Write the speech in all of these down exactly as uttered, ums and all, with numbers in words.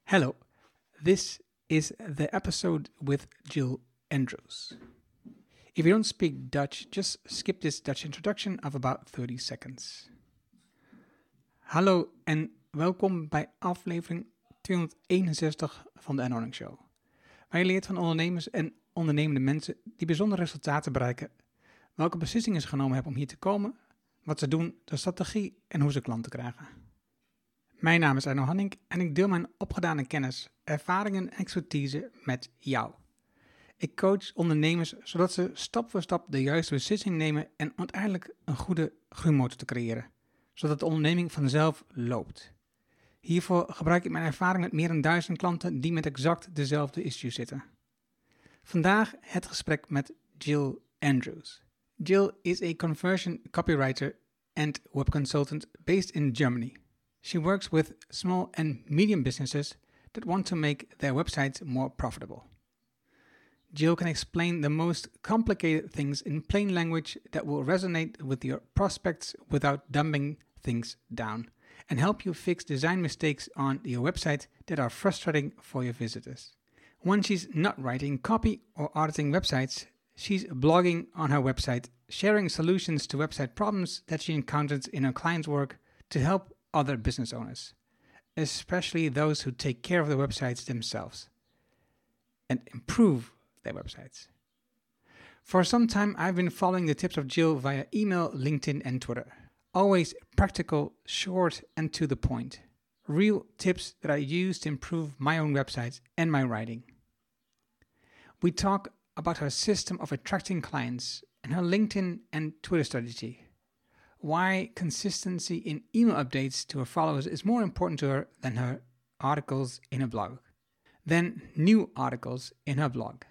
Hello, this is the episode with Jill Andrews. If you don't speak Dutch, just skip this Dutch introduction of about thirty seconds. Hallo en welkom bij aflevering tweehonderdeenenzestig van de Earning Show. Waar je leert van ondernemers en ondernemende mensen die bijzondere resultaten bereiken, welke beslissingen ze genomen hebben om hier te komen, wat ze doen, de strategie en hoe ze klanten krijgen. Mijn naam is Arno Hanning en ik deel mijn opgedane kennis, ervaringen en expertise met jou. Ik coach ondernemers zodat ze stap voor stap de juiste beslissing nemen en uiteindelijk een goede groeimotor te creëren, zodat de onderneming vanzelf loopt. Hiervoor gebruik ik mijn ervaring met meer dan duizend klanten die met exact dezelfde issues zitten. Vandaag het gesprek met Jill Andrews. Jill is a conversion copywriter and web consultant based in Germany. She works with small and medium businesses that want to make their websites more profitable. Jill can explain the most complicated things in plain language that will resonate with your prospects without dumbing things down, and help you fix design mistakes on your website that are frustrating for your visitors. When she's not writing copy or auditing websites, she's blogging on her website, sharing solutions to website problems that she encounters in her clients' work to help other business owners, especially those who take care of their websites themselves and improve their websites. For some time, I've been following the tips of Jill via email, LinkedIn, and Twitter. Always practical, short, and to the point. Real tips that I use to improve my own websites and my writing. We talk about her system of attracting clients and her LinkedIn and Twitter strategy. Why consistency in email updates to her followers is more important to her than her articles in her blog. Then new articles in her blog.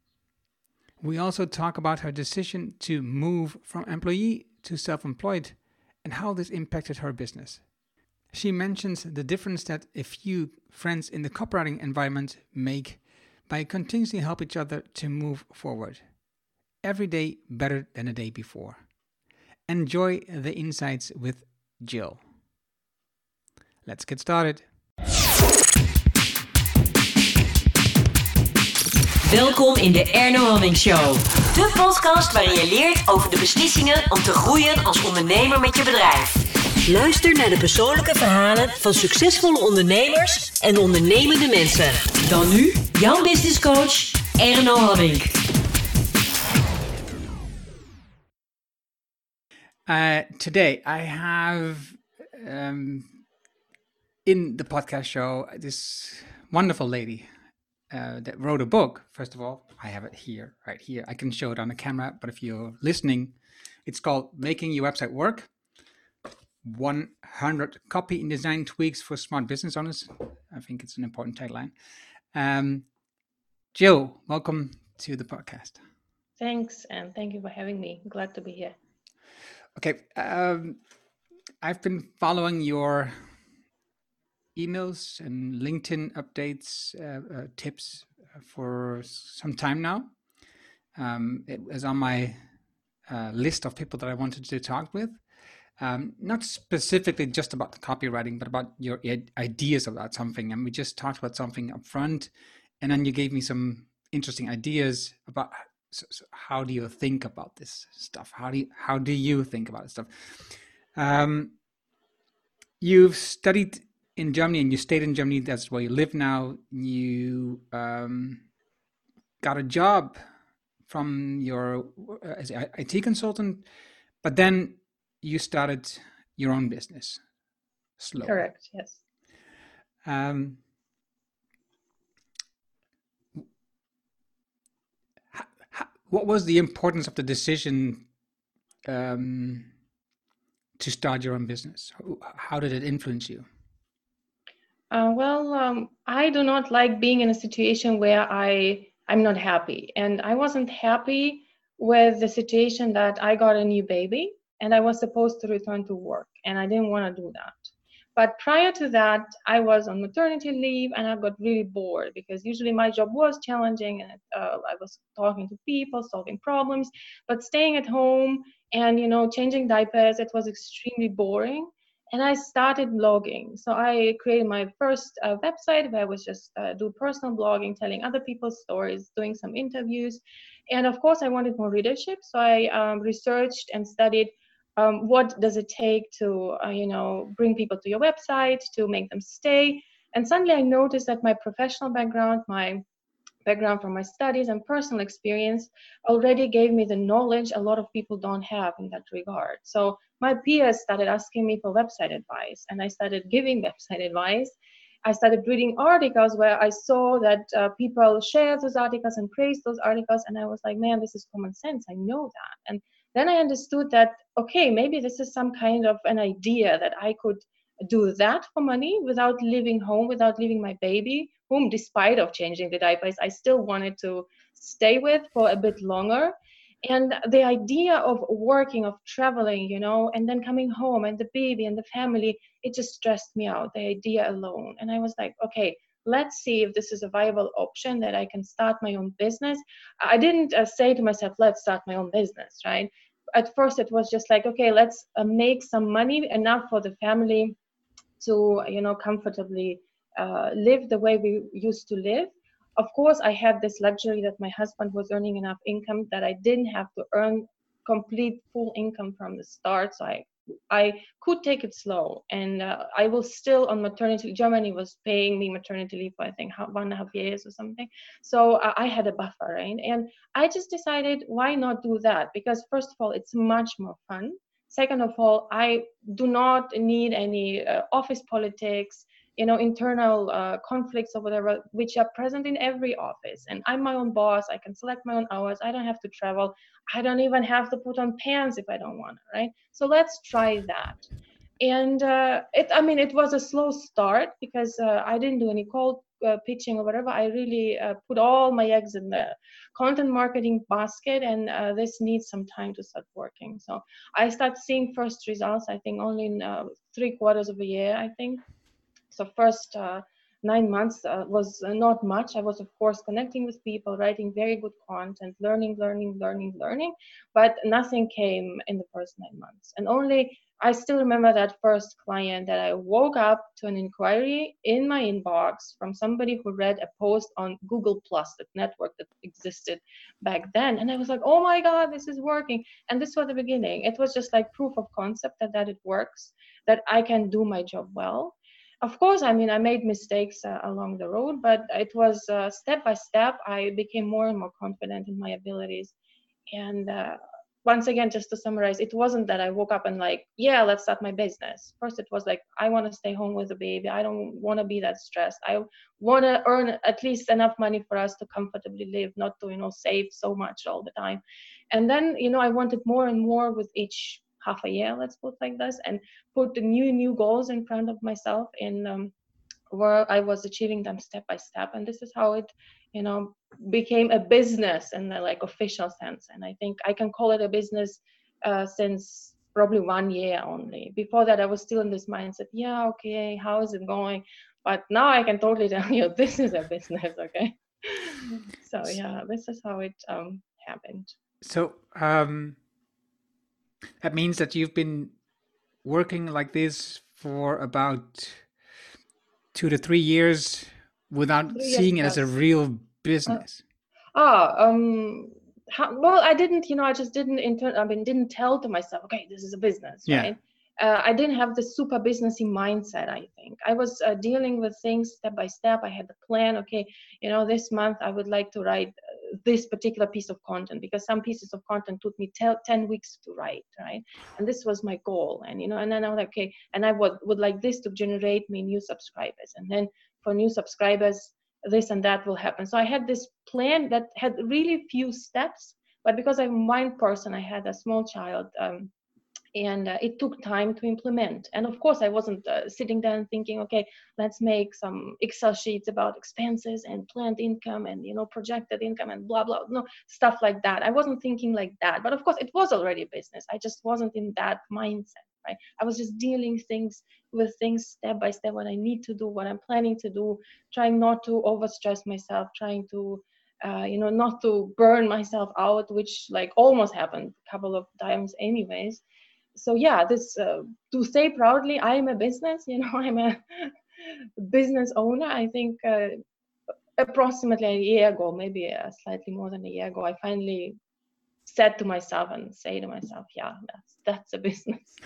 We also talk about her decision to move from employee to self-employed and how this impacted her business. She mentions the difference that a few friends in the copywriting environment make by continuously help each other to move forward. Every day better than the day before. Enjoy the insights with Jill. Let's get started. Welkom in de Arno Hanning Show. De podcast waarin je leert over de beslissingen om te groeien als ondernemer met je bedrijf. Luister naar de persoonlijke verhalen van succesvolle ondernemers en ondernemende mensen. Dan nu jouw business coach Arno Hanning. Uh, today I have um, in the podcast show this wonderful lady uh, that wrote a book. First of all, I have it here, right here. I can show it on the camera, but if you're listening, it's called Making Your Website Work. one hundred Copy and Design Tweaks for Smart Business Owners. I think it's an important tagline. Um, Jill, welcome to the podcast. Thanks, and thank you for having me. Glad to be here. Okay, um, I've been following your emails and LinkedIn updates, uh, uh, tips for some time now. Um, it was on my uh, list of people that I wanted to talk with. Um, not specifically just about the copywriting, but about your id- ideas about something. And we just talked about something up front, and then you gave me some interesting ideas about So, so how do you think about this stuff? How do you, how do you think about this stuff? Um, you've studied in Germany and you stayed in Germany. That's where you live now. You um, got a job from your uh, as an I T consultant, but then you started your own business. Slowly. Correct. Yes. Um, What was the importance of the decision um, to start your own business? How did it influence you? Uh, well, um, I do not like being in a situation where I I'm not happy, and I wasn't happy with the situation that I got a new baby and I was supposed to return to work, and I didn't want to do that. But prior to that, I was on maternity leave and I got really bored because usually my job was challenging and uh, I was talking to people, solving problems, but staying at home and, you know, changing diapers, it was extremely boring. And I started blogging. So I created my first uh, website where I was just uh, do personal blogging, telling other people's stories, doing some interviews. And of course, I wanted more readership. So I um, researched and studied um, what does it take to, uh, you know, bring people to your website, to make them stay. And suddenly I noticed that my professional background, my background from my studies and personal experience already gave me the knowledge a lot of people don't have in that regard. So my peers started asking me for website advice, and I started giving website advice. I started reading articles where I saw that uh, people share those articles and praise those articles, and I was like, man, this is common sense. I know that. And then I understood that, okay, maybe this is some kind of an idea that I could do that for money without leaving home, without leaving my baby, whom despite of changing the diapers, I still wanted to stay with for a bit longer. And the idea of working, of traveling, you know, and then coming home and the baby and the family, it just stressed me out, the idea alone. And I was like, okay, let's see if this is a viable option that I can start my own business. I didn't uh, say to myself, let's start my own business, right? At first it was just like, okay, let's uh, make some money, enough for the family to, you know, comfortably uh, live the way we used to live. Of course, I had this luxury that my husband was earning enough income that I didn't have to earn complete full income from the start. So I, I could take it slow, and uh, I was still on maternity. Germany was paying me maternity leave for I think one and a half years or something. So uh, I had a buffer, right? And I just decided, why not do that? Because first of all, it's much more fun. Second of all, I do not need any uh, office politics, you know, internal uh, conflicts or whatever, which are present in every office. And I'm my own boss. I can select my own hours. I don't have to travel. I don't even have to put on pants if I don't want to, right? So let's try that. And uh, it, I mean, it was a slow start because uh, I didn't do any cold uh, pitching or whatever. I really uh, put all my eggs in the content marketing basket, and uh, this needs some time to start working. So I start seeing first results, I think, only in uh, three quarters of a year, I think. So first uh, nine months uh, was uh, not much. I was, of course, connecting with people, writing very good content, learning, learning, learning, learning, but nothing came in the first nine months. And only, I still remember that first client that I woke up to an inquiry in my inbox from somebody who read a post on Google Plus, that network that existed back then. And I was like, oh my God, this is working. And this was the beginning. It was just like proof of concept that, that it works, that I can do my job well. Of course, I mean, I made mistakes uh, along the road, but it was uh, step by step. I became more and more confident in my abilities. And uh, once again, just to summarize, it wasn't that I woke up and like, yeah, let's start my business. First, it was like, I want to stay home with the baby. I don't want to be that stressed. I want to earn at least enough money for us to comfortably live, not to, you know, save so much all the time. And then, you know, I wanted more and more with each half a year, let's put like this, and put the new, new goals in front of myself in um, where I was achieving them step by step. And this is how it, you know, became a business in the like official sense. And I think I can call it a business uh, since probably one year only. Before that, I was still in this mindset, yeah, okay, how is it going? But now I can totally tell you, this is a business, okay? So yeah, this is how it um, happened. So um, that means that you've been working like this for about two to three years without Three seeing years it as a plus. real business. Ah, um, how, well, I didn't, you know, I just didn't intern. I mean, didn't tell to myself, okay, this is a business, Yeah. right? Uh, I didn't have the super businessy mindset. I think I was uh, dealing with things step by step. I had the plan. Okay, you know, this month I would like to write uh, this particular piece of content, because some pieces of content took me tel- ten weeks to write, right? And this was my goal. And you know, and then I was like, okay, and I would would like this to generate me new subscribers, and then for new subscribers, this and that will happen. So I had this plan that had really few steps, but because I'm a mind person, I had a small child, um, and uh, it took time to implement. And of course, I wasn't uh, sitting there and thinking, okay, let's make some Excel sheets about expenses and planned income and, you know, projected income and blah, blah, no, stuff like that. I wasn't thinking like that. But of course, it was already a business. I just wasn't in that mindset, right? I was just dealing things with things step by step, what I need to do, what I'm planning to do, trying not to overstress myself, trying to uh, you know, not to burn myself out, which like almost happened a couple of times anyways. so yeah, this uh, to say proudly, I am a business. You know, I'm a business owner. I think uh, approximately a year ago, maybe uh, slightly more than a year ago, I finally said to myself and say to myself, yeah, that's that's a business.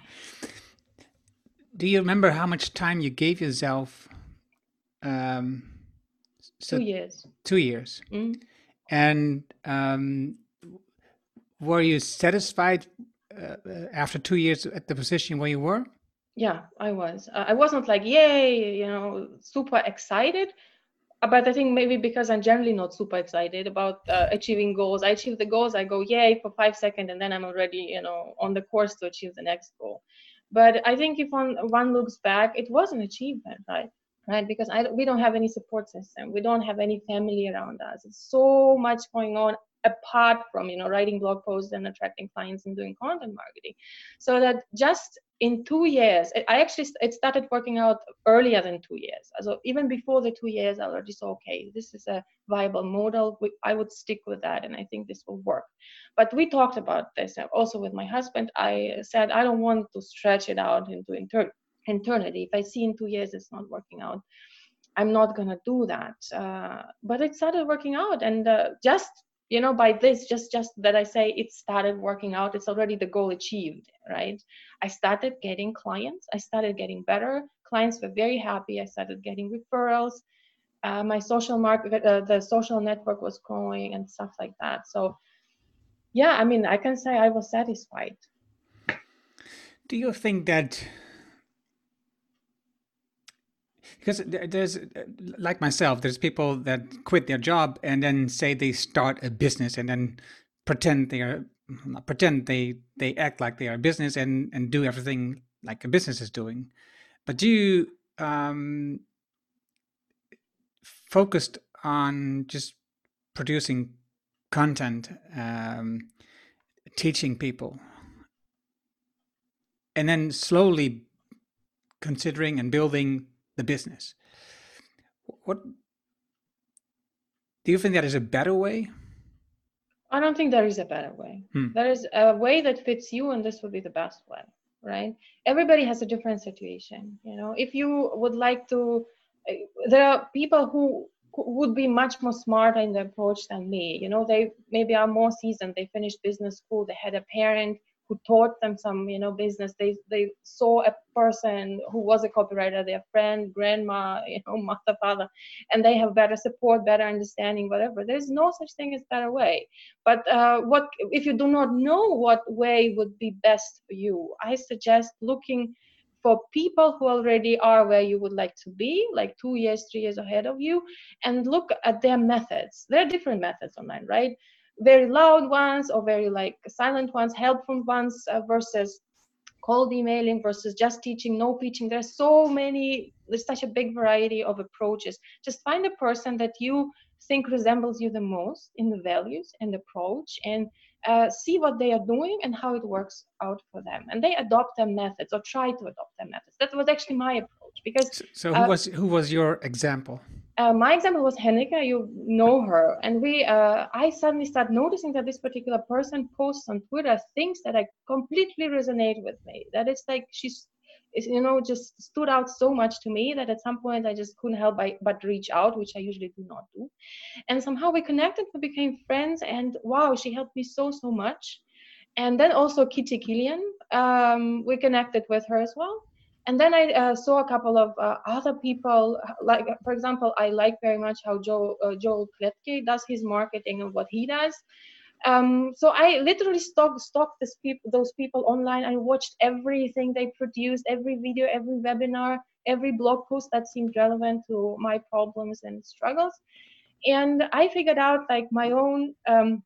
Do you remember how much time you gave yourself? Um, so Two years. Two years. Mm. And um, were you satisfied uh, after two years at the position where you were? Yeah, I was. Uh, I wasn't like, yay, you know, super excited. But I think maybe because I'm generally not super excited about uh, achieving goals. I achieve the goals, I go, yay, for five seconds, and then I'm already, you know, on the course to achieve the next goal. But I think if one, one looks back, it was an achievement, right? Right, because I, we don't have any support system. We don't have any family around us. It's so much going on apart from, you know, writing blog posts and attracting clients and doing content marketing. So that just in two years, I actually, it started working out earlier than two years. So even before the two years, I already saw, okay, this is a viable model. I would stick with that. And I think this will work. But we talked about this also with my husband. I said, I don't want to stretch it out into inter- eternity. If I see in two years it's not working out, I'm not going to do that. Uh, but it started working out. And uh, just, you know, by this, just, just that I say it started working out, it's already the goal achieved, right? I started getting clients. I started getting better. Clients were very happy. I started getting referrals. Uh, my social market, uh, the social network was growing and stuff like that. So yeah, I mean, I can say I was satisfied. Do you think that, because there's, like myself, there's people that quit their job and then say they start a business and then pretend they are, not pretend, they, they act like they are a business and, and do everything like a business is doing. But you um, focused on just producing content, um, teaching people, and then slowly considering and building the business. What do you think that is a better way? I don't think there is a better way. Hmm. There is a way that fits you, and this would be the best way, right? Everybody has a different situation. You know, if you would like to, uh, there are people who would be much more smart in the approach than me. You know, they maybe are more seasoned. They finished business school. They had a parent who taught them some, you know, business. They they saw a person who was a copywriter, their friend, grandma, you know, mother, father, and they have better support, better understanding, whatever. There's no such thing as better way. But uh, what if you do not know what way would be best for you? I suggest looking for people who already are where you would like to be, like two years, three years ahead of you, and look at their methods. There are different methods online, right? Very loud ones or very like silent ones, helpful ones uh, versus cold emailing versus just teaching, no pitching. There's so many, there's such a big variety of approaches. Just find a person that you think resembles you the most in the values and approach, and uh, see what they are doing and how it works out for them. And they adopt their methods or try to adopt their methods. That was actually my approach. Because so, so who uh, was who was your example? Uh, my example was Hennika. You know her, and we. Uh, I suddenly start noticing that this particular person posts on Twitter things that I completely resonate with me. That it's like she's, you know, just stood out so much to me that at some point I just couldn't help by, but reach out, which I usually do not do. And somehow we connected, we became friends, and wow, she helped me so so much. And then also Kitty Killian, um, we connected with her as well. And then I uh, saw a couple of uh, other people, like, for example, I like very much how Joe, uh, Joel Kletke does his marketing and what he does. Um, so I literally stalked, stalked this people, those people online. I watched everything they produced, every video, every webinar, every blog post that seemed relevant to my problems and struggles. And I figured out like my own um,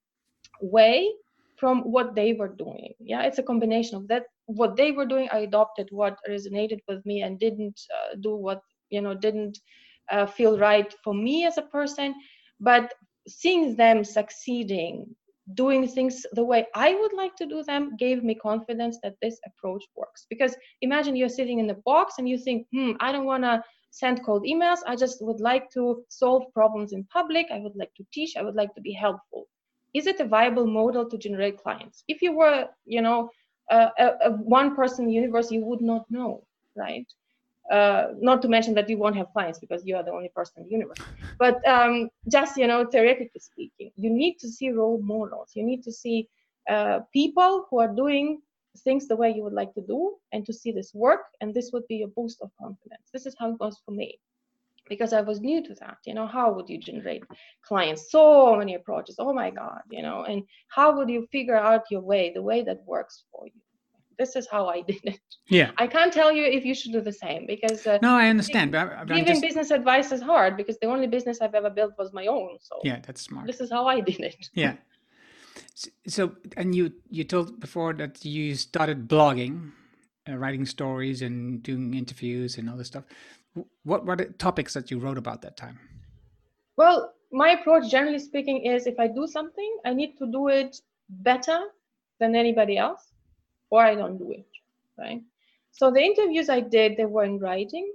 way from what they were doing. Yeah, it's a combination of that. What they were doing, I adopted what resonated with me and didn't uh, do what, you know, didn't uh, feel right for me as a person. But seeing them succeeding, doing things the way I would like to do them, gave me confidence that this approach works. Because imagine you're sitting in the box and you think, hmm, I don't want to send cold emails. I just would like to solve problems in public. I would like to teach. I would like to be helpful. Is it a viable model to generate clients? If you were, you know, uh, a, a one person universe, you would not know, right? Uh, not to mention that you won't have clients because you are the only person in the universe. But um, just, you know, theoretically speaking, you need to see role models. You need to see uh, people who are doing things the way you would like to do, and to see this work. And this would be a boost of confidence. This is how it goes for me, because I was new to that. You know, how would you generate clients? So many approaches. Oh my God, you know, and how would you figure out your way, the way that works for you? This is how I did it. Yeah. I can't tell you if you should do the same, because uh, no, I understand. giving, but I'm giving just... business advice is hard, because the only business I've ever built was my own. So yeah, that's smart. This is how I did it. Yeah. So, and you you told before that you started blogging, uh, writing stories and doing interviews and all this stuff. What were the topics that you wrote about that time? Well, my approach, generally speaking, is if I do something, I need to do it better than anybody else, or I don't do it, right? So the interviews I did, they were in writing,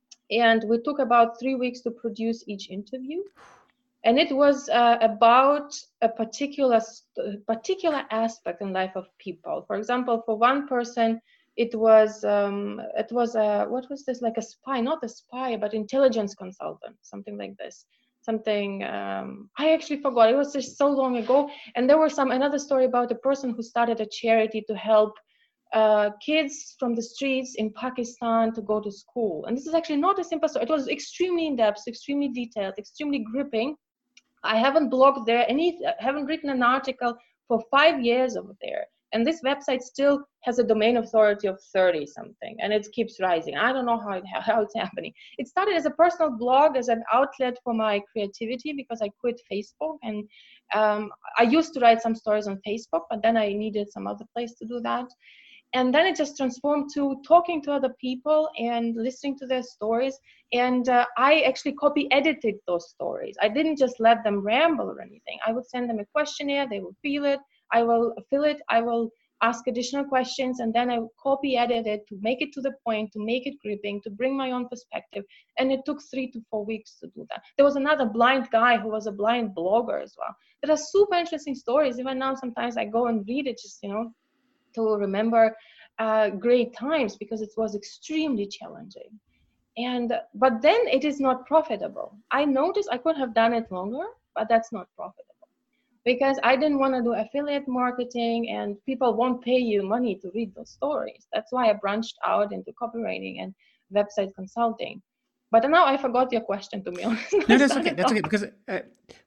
and we took about three weeks to produce each interview. And it was uh, about a particular particular aspect in life of people. For example, for one person, it was um, it was a what was this like a spy, not a spy, but intelligence consultant, something like this. Something um, I actually forgot. It was just so long ago. And there was some another story about a person who started a charity to help uh, kids from the streets in Pakistan to go to school. And this is actually not a simple story. It was extremely in depth, extremely detailed, extremely gripping. I haven't blogged there, any, haven't written an article for five years over there. And this website still has a domain authority of thirty something, and it keeps rising. I don't know how, it, how it's happening. It started as a personal blog, as an outlet for my creativity, because I quit Facebook. And um, I used to write some stories on Facebook, but then I needed some other place to do that. And then it just transformed to talking to other people and listening to their stories. And uh, I actually copy edited those stories. I didn't just let them ramble or anything. I would send them a questionnaire, they will fill it, I will fill it, I will ask additional questions, and then I would copy edit it to make it to the point, to make it gripping, to bring my own perspective. And it took three to four weeks to do that. There was another blind guy who was a blind blogger as well. There are super interesting stories. Even now, sometimes I go and read it just, you know, to remember uh, great times, because it was extremely challenging. And but then it is not profitable. I noticed I could have done it longer, but that's not profitable, because I didn't want to do affiliate marketing, and people won't pay you money to read those stories. That's why I branched out into copywriting and website consulting. But now I forgot your question, to be honest. No, that's okay. That's okay, because uh,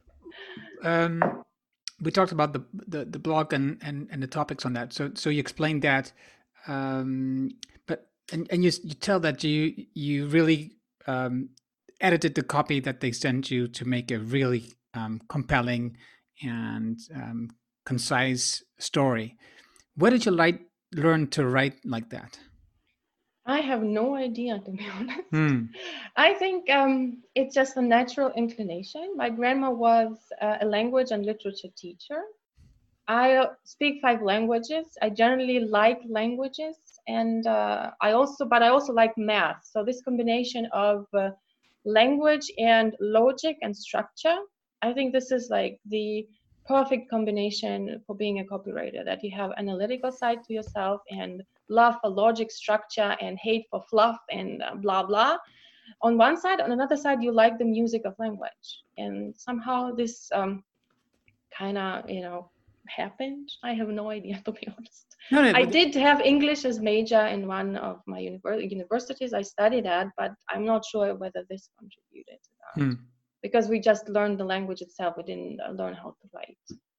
um, we talked about the, the, the blog and, and, and the topics on that. So so you explained that, um, but and, and you you tell that you you really um, edited the copy that they sent you to make a really um, compelling and um, concise story. Where did you like learn to write like that? I have no idea, to be honest. Hmm. I think um, it's just a natural inclination. My grandma was uh, a language and literature teacher. I uh, speak five languages. I generally like languages, and uh, I also, but I also like math. So this combination of uh, language and logic and structure, I think this is like the perfect combination for being a copywriter, that you have analytical side to yourself and love for logic, structure, and hate for fluff and uh, blah, blah. On one side, on another side, you like the music of language. And somehow this um, kind of, you know, happened. I have no idea, to be honest. No, no, I did have English as major in one of my univer- universities I studied at, but I'm not sure whether this contributed to that. Hmm. Because we just learned the language itself. We didn't learn how to write.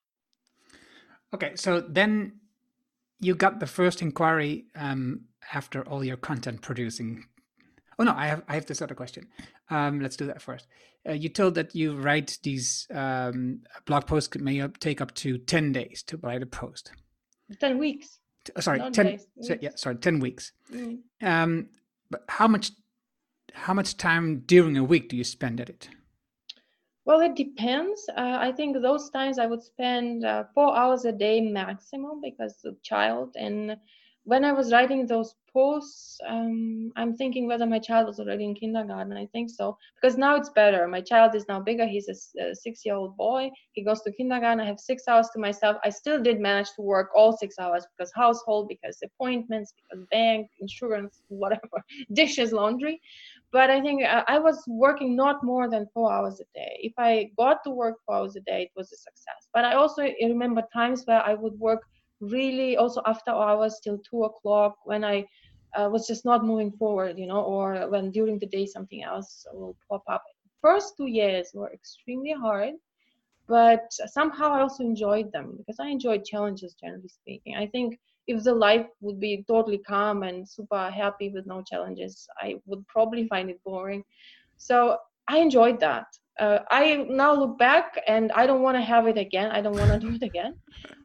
Okay, so then you got the first inquiry um, after all your content producing. Oh no, I have I have this other question. Um, let's do that first. Uh, you told that you write these um, blog posts could may up, take up to ten days to write a post. Ten weeks. Uh, sorry, Not ten. days, So, yeah, sorry, ten weeks. Mm. Um, but how much how much time during a week do you spend at it? Well, it depends. Uh, I think those times I would spend uh, four hours a day maximum, because of child and when I was writing those posts, um, I'm thinking whether my child was already in kindergarten. I think so, because now it's better. My child is now bigger. He's a, a six-year-old boy. He goes to kindergarten. I have six hours to myself. I still did manage to work all six hours because household, because appointments, because bank, insurance, whatever, dishes, laundry. But I think I, I was working not more than four hours a day. If I got to work four hours a day, it was a success. But I also remember times where I would work really also after hours till two o'clock when I uh, was just not moving forward, you know, or when during the day something else will pop up. First two years were extremely hard, but somehow I also enjoyed them because I enjoyed challenges, generally speaking. I think if the life would be totally calm and super happy with no challenges, I would probably find it boring. So I enjoyed that. Uh, I now look back and I don't want to have it again. I don't want to do it again.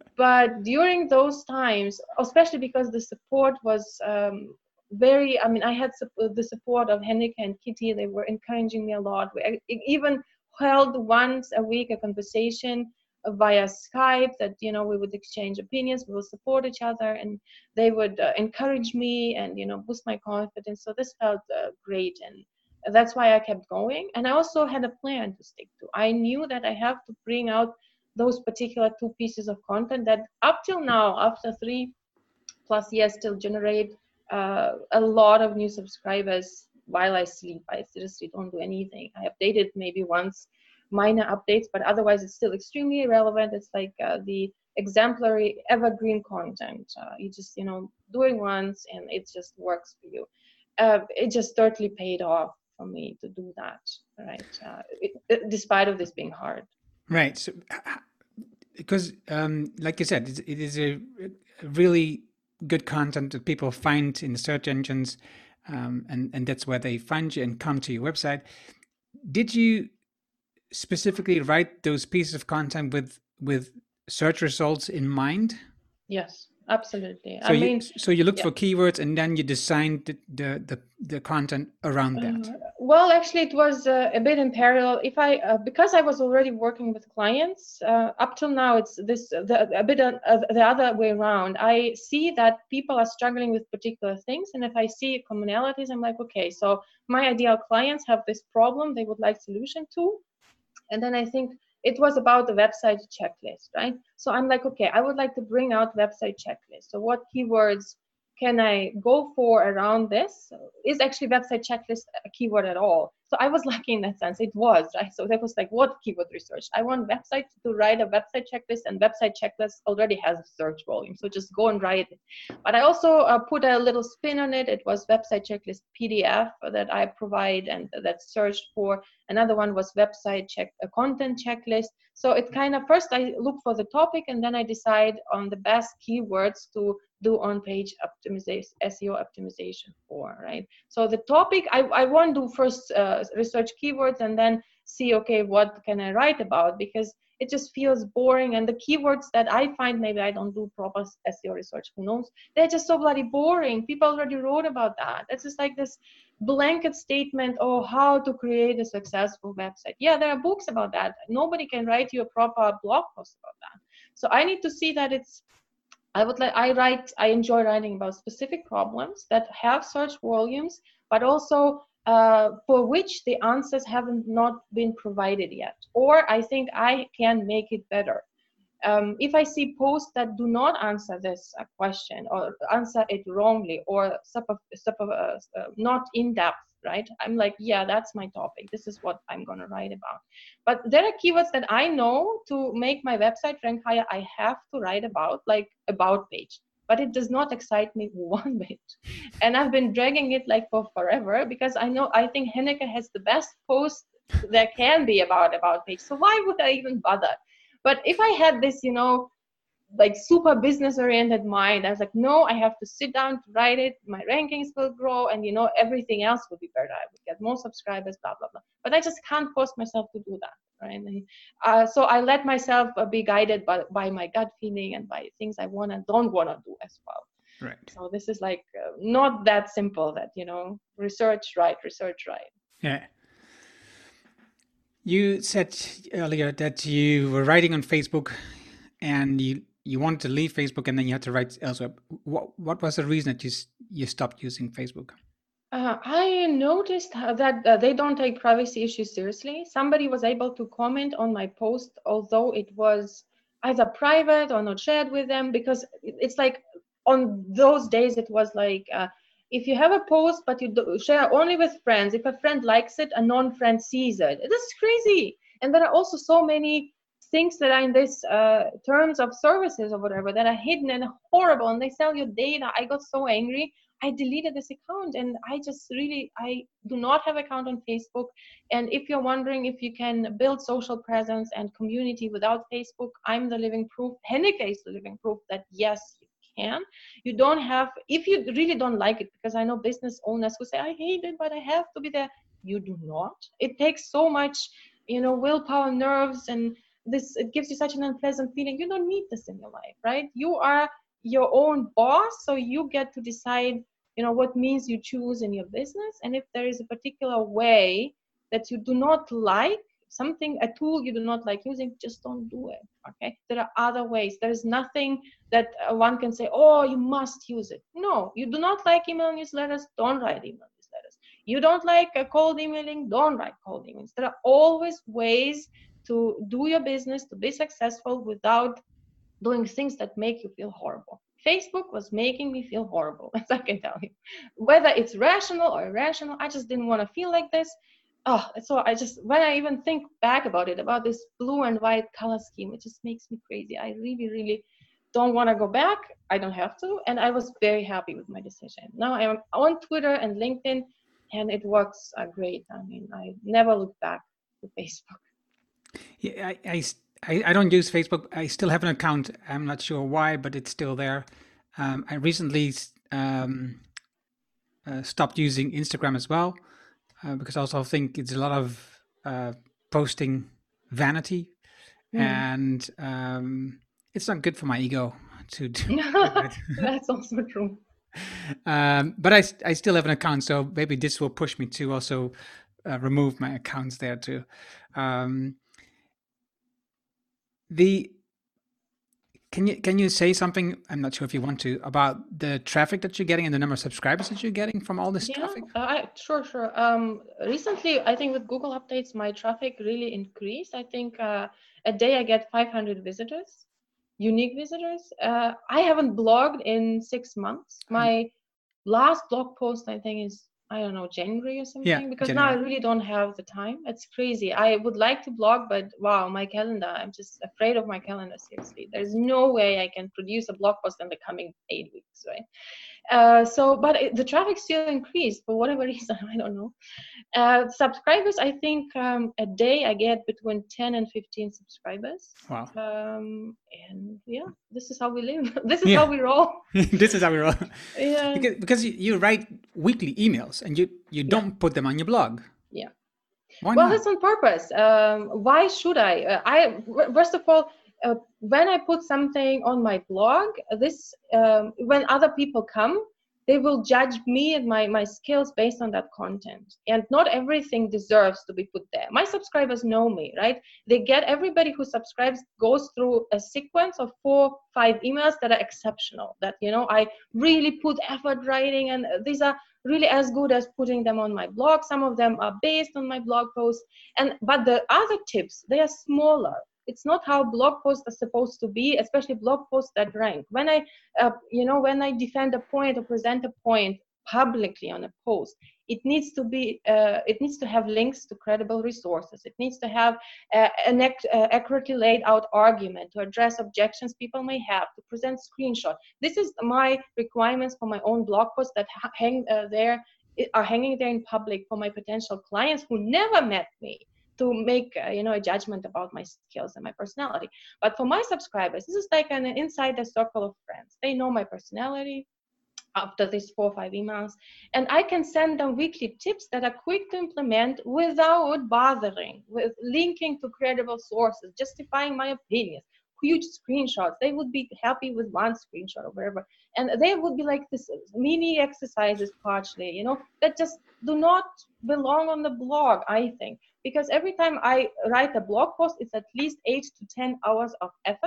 But during those times, especially because the support was um, very, I mean, I had su- the support of Henrike and Kitty. They were encouraging me a lot. We even held once a week a conversation via Skype that, you know, we would exchange opinions, we would support each other, and they would uh, encourage me and, you know, boost my confidence. So this felt uh, great. And that's why I kept going. And I also had a plan to stick to. I knew that I have to bring out those particular two pieces of content that up till now, after three plus years, still generate uh, a lot of new subscribers while I sleep. I seriously don't do anything. I update it maybe once, minor updates, but otherwise it's still extremely relevant. It's like uh, the exemplary evergreen content. Uh, you just, you know, do it once and it just works for you. Uh, it just totally paid off for me to do that, right? Uh, it, it, despite of this being hard. Right. So, because, um, like you said, it, it is a, a really good content that people find in the search engines, um, and and that's where they find you and come to your website. Did you specifically write those pieces of content with with search results in mind? Yes, absolutely. So I you mean, so you looked yeah. for keywords and then you designed the the the, the content around that. Uh, well, actually, it was uh, a bit in parallel. If I, uh, because I was already working with clients, uh, up till now, it's this the, a bit of, uh, the other way around. I see that people are struggling with particular things, and if I see commonalities, I'm like, okay, so my ideal clients have this problem they would like solution to, and then I think it was about the website checklist, right? So I'm like, okay, I would like to bring out website checklist. So what keywords can I go for around this? Is actually website checklist a keyword at all? So I was lucky in that sense. It was, right? So that was like, what keyword research? I want website to write a website checklist, and website checklist already has a search volume. So just go and write it. But I also uh, put a little spin on it. It was website checklist P D F that I provide and that's searched for. Another one was website check, a content checklist. So it kind of, first I look for the topic and then I decide on the best keywords to do on-page optimization, S E O optimization for, right? So the topic, I, I won't do first uh, research keywords and then see, okay, what can I write about? Because it just feels boring. And the keywords that I find, maybe I don't do proper S E O research, who knows? They're just so bloody boring. People already wrote about that. It's just like this blanket statement, oh, how to create a successful website. Yeah, there are books about that. Nobody can write you a proper blog post about that. So I need to see that it's, I would like, I write, I enjoy writing about specific problems that have search volumes, but also uh, for which the answers haven't not been provided yet. Or I think I can make it better. Um, if I see posts that do not answer this uh, question or answer it wrongly or super, super, uh, uh, not in depth, right? I'm like, yeah, that's my topic. This is what I'm going to write about. But there are keywords that I know to make my website rank higher, I have to write about, like about page. But it does not excite me one bit. And I've been dragging it like for forever because I know, I think Henrike has the best post there can be about about page. So why would I even bother? But if I had this, you know, like super business oriented mind, I was like, no, I have to sit down to write it. My rankings will grow and, you know, everything else will be better. I would get more subscribers, blah, blah, blah. But I just can't force myself to do that, right? And uh, so I let myself uh, be guided by, by my gut feeling and by things I want and don't want to do as well. Right. So this is like uh, not that simple that, you know, research, right, research, right. Yeah. You said earlier that you were writing on Facebook and you you wanted to leave Facebook and then you had to write elsewhere. What what was the reason that you you stopped using Facebook? Uh, I noticed that uh, they don't take privacy issues seriously. Somebody was able to comment on my post, although it was either private or not shared with them, because it's like on those days it was like uh, if you have a post but you do share only with friends, if a friend likes it, a non-friend sees it. This is crazy. And there are also so many things that are in this uh, terms of services or whatever that are hidden and horrible, and they sell your data. I got so angry. I deleted this account, and I just really, I do not have an account on Facebook. And if you're wondering if you can build social presence and community without Facebook, I'm the living proof. Henneke is the living proof that yes, you can. You don't have, if you really don't like it, because I know business owners who say, I hate it, but I have to be there. You do not. It takes so much, you know, willpower, nerves, and this, it gives you such an unpleasant feeling. You don't need this in your life, right? You are your own boss, so you get to decide, you know, what means you choose in your business. And if there is a particular way that you do not like, something, a tool you do not like using, just don't do it. Okay, there are other ways. There is nothing that uh, one can say, oh, you must use it. No, you do not like email newsletters, don't write email newsletters. You don't like uh, cold emailing, don't write cold emails. There are always ways to do your business, to be successful without doing things that make you feel horrible. Facebook was making me feel horrible, as I can tell you. Whether it's rational or irrational, I just didn't want to feel like this. Oh, so I just, when I even think back about it, about this blue and white color scheme, it just makes me crazy. I really, really don't want to go back. I don't have to. And I was very happy with my decision. Now I'm on Twitter and LinkedIn, and it works uh, great. I mean, I never look back to Facebook. Yeah, I, I, I, I don't use Facebook. I still have an account. I'm not sure why, but it's still there. Um, I recently um, uh, stopped using Instagram as well, uh, because I also think it's a lot of uh, posting vanity, mm. and um, it's not good for my ego to do that. That's also true. Um, but I, I still have an account, so maybe this will push me to also uh, remove my accounts there too. Um, The can you can you say something? I'm not sure if you want to, about the traffic that you're getting and the number of subscribers that you're getting from all this yeah, traffic. Uh, I, sure, sure. Um, recently, I think with Google updates, my traffic really increased. I think uh, a day I get five hundred visitors, unique visitors. Uh, I haven't blogged in six months. My last blog post, I think, is I don't know, January or something, yeah, because January. now I really don't have the time. It's crazy. I would like to blog, but wow, my calendar, I'm just afraid of my calendar, seriously. There's no way I can produce a blog post in the coming eight weeks, right? Uh, so, but it, the traffic still increased for whatever reason, I don't know. Uh, subscribers, I think um, a day I get between ten and fifteen subscribers. Wow. Um, and yeah, this is how we live. This is yeah. how we roll. This is how we roll. Yeah. Because, because you, you write weekly emails and you, you don't yeah. put them on your blog. Yeah. Why well, not? That's on purpose. Um, why should I? Uh, I first of all, uh, when I put something on my blog, this um, when other people come, they will judge me and my, my skills based on that content. And not everything deserves to be put there. My subscribers know me, right? They get, everybody who subscribes goes through a sequence of four, five emails that are exceptional, that, you know, I really put effort writing, and these are really as good as putting them on my blog. Some of them are based on my blog posts. And, but the other tips, they are smaller. It's not how blog posts are supposed to be, especially blog posts that rank. When I, uh, you know, when I defend a point or present a point publicly on a post, it needs to be, uh, it needs to have links to credible resources. It needs to have uh, an ac- uh, accurately laid out argument to address objections people may have, to present screenshots. This is my requirements for my own blog posts that ha- hang uh, there, are hanging there in public for my potential clients who never met me, to make uh, you know, a judgment about my skills and my personality. But for my subscribers, this is like an insider circle of friends. They know my personality after these four or five emails, and I can send them weekly tips that are quick to implement without bothering with linking to credible sources, justifying my opinions, huge screenshots. They would be happy with one screenshot or whatever, and they would be like this mini exercises partially, you know, that just do not belong on the blog, I think. Because every time I write a blog post, it's at least eight to ten hours of effort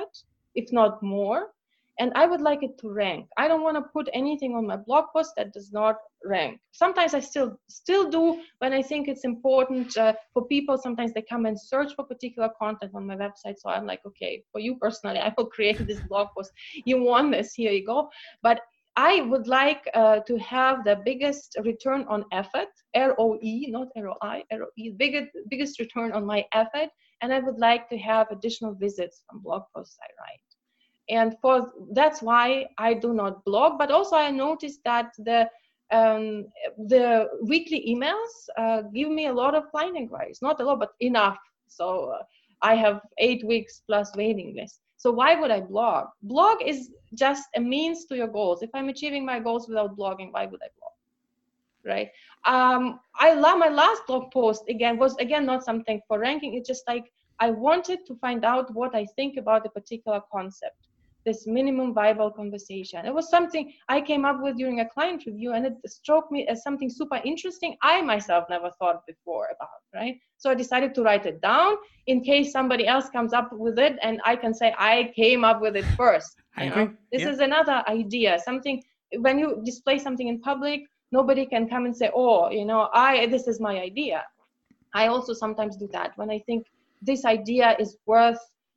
if not more. And I would like it to rank. I don't want to put anything on my blog post that does not rank. Sometimes I still still do when I think it's important uh, for people. Sometimes they come and search for particular content on my website. So I'm like, okay, for you personally, I will create this blog post. You want this, here you go. But I would like uh, to have the biggest return on effort, R O E, not R O I, R O E, biggest, biggest return on my effort. And I would like to have additional visits from blog posts I write. And for that's why I do not blog. But also I noticed that the um, the weekly emails uh, give me a lot of client inquiries. Not a lot, but enough. So uh, I have eight weeks plus waiting list. So why would I blog? Blog is just a means to your goals. If I'm achieving my goals without blogging, why would I blog? Right? Um, I love my last blog post again was again not something for ranking. It's just like I wanted to find out what I think about a particular concept. This minimum viable conversation. It was something I came up with during a client review, and it struck me as something super interesting I myself never thought before about, right? So I decided to write it down in case somebody else comes up with it and I can say I came up with it first. I You agree. know? This Yeah. is another idea. Something, when you display something in public, nobody can come and say, oh, you know, I this is my idea. I also sometimes do that when I think this idea is worth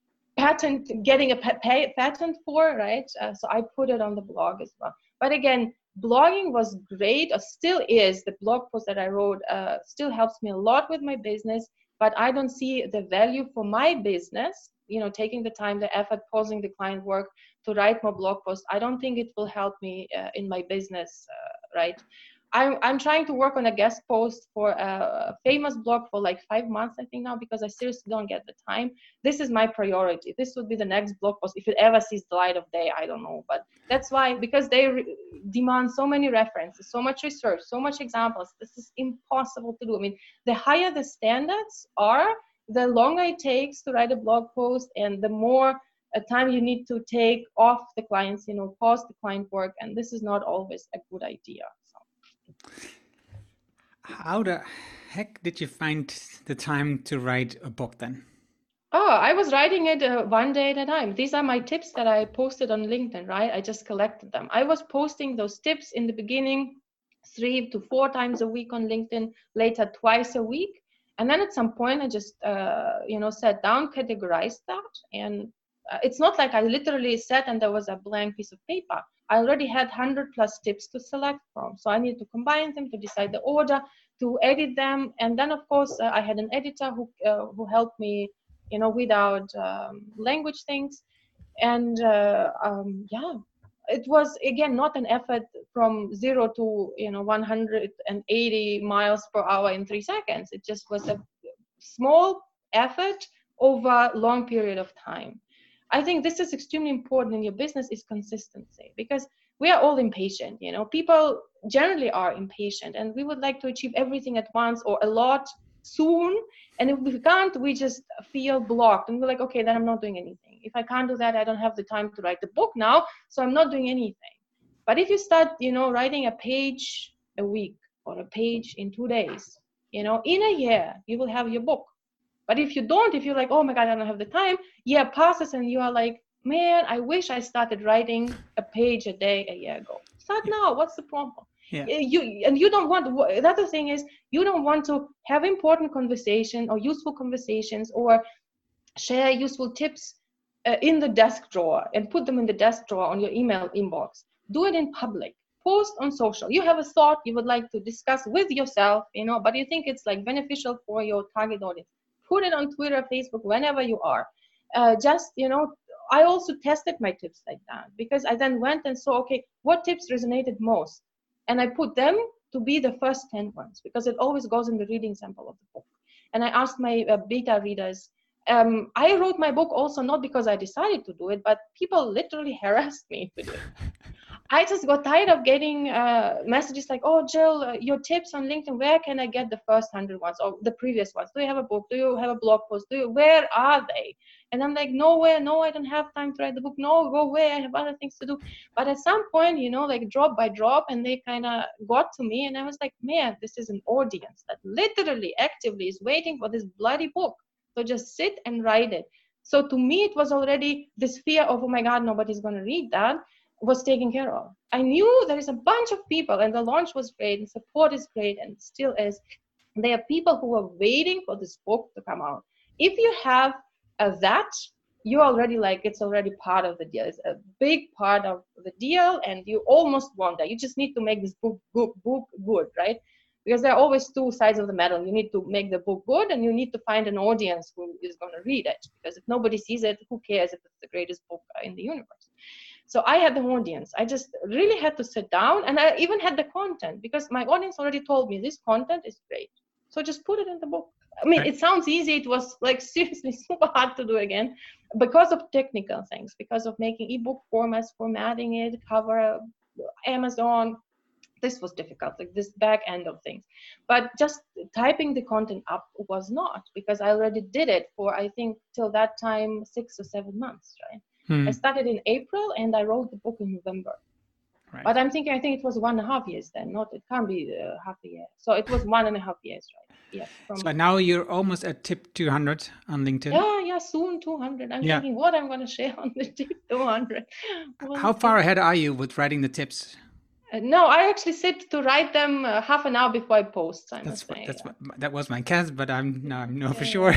patent getting a pay, patent for, right? Uh, so I put it on the blog as well. But again, blogging was great, or still is. The blog post that I wrote uh, still helps me a lot with my business, but I don't see the value for my business, you know, taking the time, the effort, pausing the client work to write more blog posts. I don't think it will help me uh, in my business, uh, right? I'm, I'm trying to work on a guest post for a famous blog for like five months, I think now, because I seriously don't get the time. This is my priority. This would be the next blog post. If it ever sees the light of day, I don't know. But that's why, because they re- demand so many references, so much research, so much examples. This is impossible to do. I mean, the higher the standards are, the longer it takes to write a blog post and the more uh, time you need to take off the clients, you know, pause the client work. And this is not always a good idea. How the heck did you find the time to write a book then? Oh, I was writing it uh, one day at a time. These are my tips that I posted on LinkedIn, right? I just collected them. I was posting those tips in the beginning, three to four times a week on LinkedIn, later twice a week. And then at some point, I just, uh, you know, sat down, categorized that. And uh, it's not like I literally sat and there was a blank piece of paper. I already had one hundred plus tips to select from. So I needed to combine them, to decide the order, to edit them. And then, of course, uh, I had an editor who uh, who helped me, you know, without um, language things. And uh, um, yeah, it was, again, not an effort from zero to, you know, one hundred eighty miles per hour in three seconds. It just was a small effort over a long period of time. I think this is extremely important in your business, is consistency, because we are all impatient. You know, people generally are impatient, and we would like to achieve everything at once or a lot soon. And if we can't, we just feel blocked, and we're like, okay, then I'm not doing anything. If I can't do that, I don't have the time to write the book now, so I'm not doing anything. But if you start, you know, writing a page a week or a page in two days, you know, in a year, you will have your book. But if you don't, if you're like, oh my God, I don't have the time, year passes and you are like, man, I wish I started writing a page a day a year ago. Start now. What's the problem? Yeah. You and you don't want. The other thing is, you don't want to have important conversation or useful conversations or share useful tips uh, in the desk drawer and put them in the desk drawer on your email inbox. Do it in public. Post on social. You have a thought you would like to discuss with yourself, you know, but you think it's like beneficial for your target audience. Put it on Twitter, Facebook, whenever you are. Uh, just, you know, I also tested my tips like that, because I then went and saw, okay, what tips resonated most? And I put them to be the first ten ones, because it always goes in the reading sample of the book. And I asked my uh, beta readers, um, I wrote my book also not because I decided to do it, but people literally harassed me to do it. I just got tired of getting uh, messages like, oh, Jill, uh, your tips on LinkedIn, where can I get the first hundred ones or the previous ones? Do you have a book? Do you have a blog post? Do you, where are they? And I'm like, nowhere, no, I don't have time to write the book. No, go away, I have other things to do. But at some point, you know, like drop by drop, and they kind of got to me. And I was like, man, this is an audience that literally actively is waiting for this bloody book. So just sit and write it. So to me, it was already this fear of, oh my God, nobody's going to read that, was taken care of. I knew there is a bunch of people, and the launch was great, and support is great, and still is. There are people who are waiting for this book to come out. If you have uh, that, you already like, it's already part of the deal. It's a big part of the deal, and you almost want that. You just need to make this book, book, book good, right? Because there are always two sides of the medal. You need to make the book good, and you need to find an audience who is going to read it. Because if nobody sees it, who cares if it's the greatest book in the universe? So I had the audience. I just really had to sit down, and I even had the content, because my audience already told me this content is great. So just put it in the book. I mean, it sounds easy. It was like seriously super hard to do again because of technical things, because of making ebook formats, formatting it, cover, Amazon. This was difficult, like this back end of things. But just typing the content up was not, because I already did it for, I think, till that time, six or seven months, right? Hmm. I started in April and I wrote the book in November. Right. But I'm thinking, I think it was one and a half years then, not, it can't be uh, half a year. So it was one and a half years, right? Yeah. From so now you're almost at tip two hundred on LinkedIn. Yeah, yeah, soon two hundred. I'm yeah. thinking what I'm going to share on the tip two hundred. Well, how far ahead are you with writing the tips? Uh, no, I actually sit to write them uh, half an hour before I post. I that's what, say, that's yeah. what, that was my guess, but I'm no, I know for sure.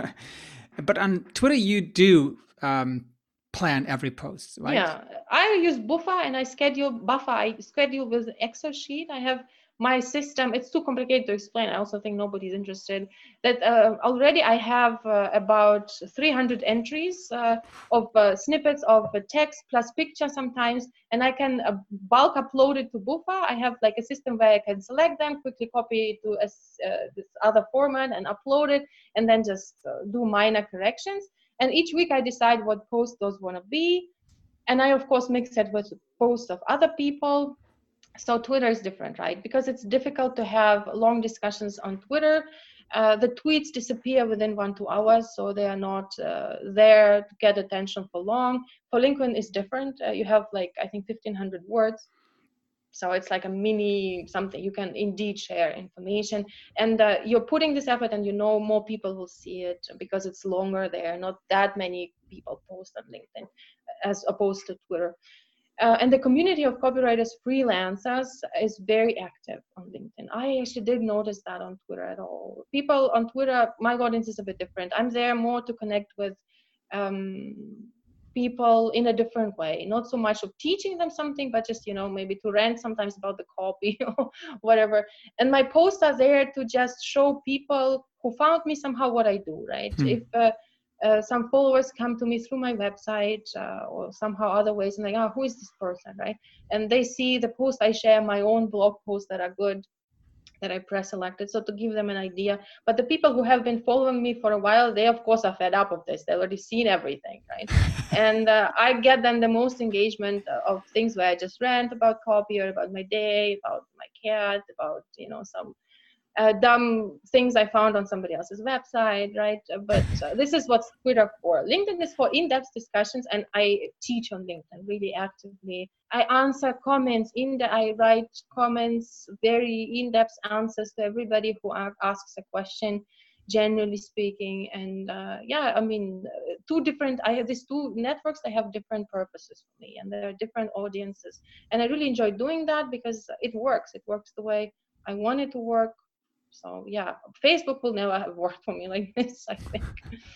But on Twitter, you do um, plan every post, right? Yeah, I use Buffer and I schedule Buffer. I schedule with Excel sheet. I have my system. It's too complicated to explain. I also think nobody's interested. That uh, already I have uh, about three hundred entries uh, of uh, snippets of uh, text plus picture sometimes, and I can uh, bulk upload it to Buffer. I have like a system where I can select them, quickly copy it to a, uh, this other format and upload it, and then just uh, do minor corrections. And each week I decide what posts those want to be. And I, of course, mix it with posts of other people. So Twitter is different, right? Because it's difficult to have long discussions on Twitter. Uh, the tweets disappear within one, two hours, so they are not uh, there to get attention for long. For LinkedIn, it's different. Uh, you have like, I think, fifteen hundred words. So it's like a mini something. You can indeed share information. And uh, you're putting this effort and you know more people will see it because it's longer there. Not that many people post on LinkedIn as opposed to Twitter. Uh, and the community of copywriters freelancers is very active on LinkedIn. I actually didn't notice that on Twitter at all. People on Twitter, my audience is a bit different. I'm there more to connect with um, people in a different way, not so much of teaching them something, but just, you know, maybe to rant sometimes about the copy or whatever. And my posts are there to just show people who found me somehow what I do, right? Hmm. If uh, uh, some followers come to me through my website uh, or somehow other ways and like, oh, who is this person, right? And they see the post I share, my own blog posts that are good, that I pre-selected, so to give them an idea. But the people who have been following me for a while, they of course are fed up of this. They've already seen everything, right? And uh, I get them the most engagement of things where I just rant about copy or about my day, about my cat, about, you know, some uh, dumb things I found on somebody else's website, right? But uh, this is what's Twitter for. LinkedIn is for in-depth discussions, and I teach on LinkedIn really actively. I answer comments, in the, I write comments, very in-depth answers to everybody who asks a question, generally speaking. And uh, yeah, I mean, two different, I have these two networks, they have different purposes for me, and there are different audiences. And I really enjoy doing that because it works. It works the way I want it to work. So yeah, Facebook will never have worked for me like this, I think.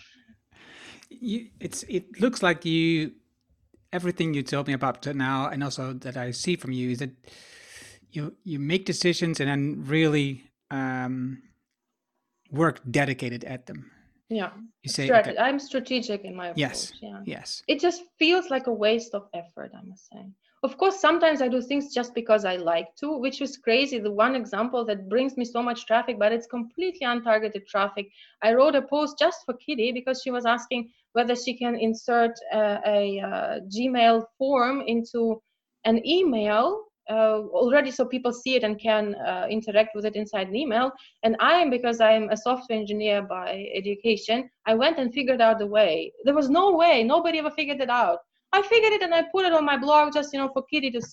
You, it's, it looks like you, everything you told me about now, and also that I see from you, is that you you make decisions and then really um, work dedicated at them. Yeah, you say, Strat- okay. I'm strategic in my approach. Yes, yeah. yes. It just feels like a waste of effort, I must say. Of course, sometimes I do things just because I like to, which is crazy. The one example that brings me so much traffic, but it's completely untargeted traffic. I wrote a post just for Kitty because she was asking whether she can insert a, a, a Gmail form into an email uh, already so people see it and can uh, interact with it inside an email. And I am, because I'm a software engineer by education, I went and figured out the way. There was no way, nobody ever figured it out. I figured it and I put it on my blog just, you know, for Kitty to see.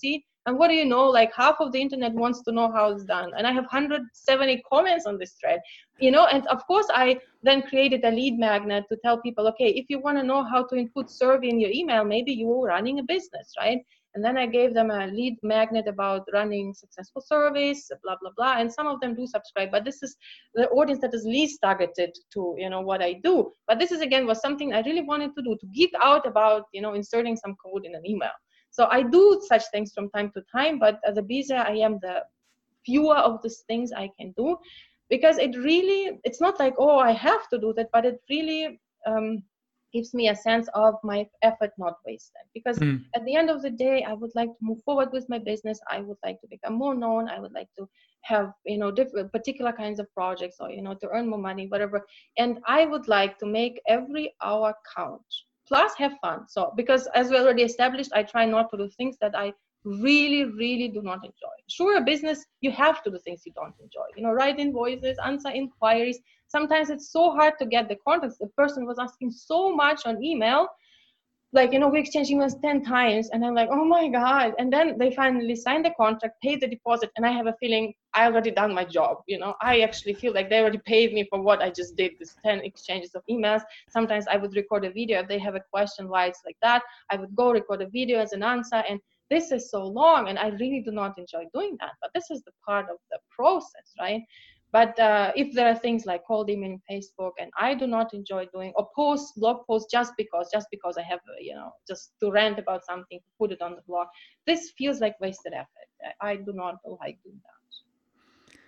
And what do you know, like half of the internet wants to know how it's done. And I have one hundred seventy comments on this thread, you know, and of course I then created a lead magnet to tell people, okay, if you want to know how to input survey in your email, maybe you're running a business, right? And then I gave them a lead magnet about running successful surveys, blah, blah, blah. And some of them do subscribe, but this is the audience that is least targeted to, you know, what I do. But this is, again, was something I really wanted to do, to geek out about, you know, inserting some code in an email. So I do such things from time to time, but as a Bisa, I am the fewer of these things I can do, because it really, it's not like, oh, I have to do that, but it really, um, gives me a sense of my effort not wasted, because mm. at the end of the day, I would like to move forward with my business. I would like to become more known. I would like to have, you know, different particular kinds of projects, or, you know, to earn more money, whatever. And I would like to make every hour count, plus have fun. So, because as we already established, I try not to do things that I really, really do not enjoy. Sure, a business, you have to do things you don't enjoy. You know, write invoices, answer inquiries. Sometimes it's so hard to get the contacts. The person was asking so much on email, like, you know, we exchanged emails ten times, and I'm like, oh my God. And then they finally signed the contract, paid the deposit, and I have a feeling I already done my job. You know, I actually feel like they already paid me for what I just did, this ten exchanges of emails. Sometimes I would record a video. If they have a question why it's like that, I would go record a video as an answer. And this is so long, and I really do not enjoy doing that. But this is the part of the process, right? But uh, if there are things like cold emailing Facebook, and I do not enjoy doing, or post blog posts just because, just because I have, you know, just to rant about something, to put it on the blog, this feels like wasted effort. I do not like doing that.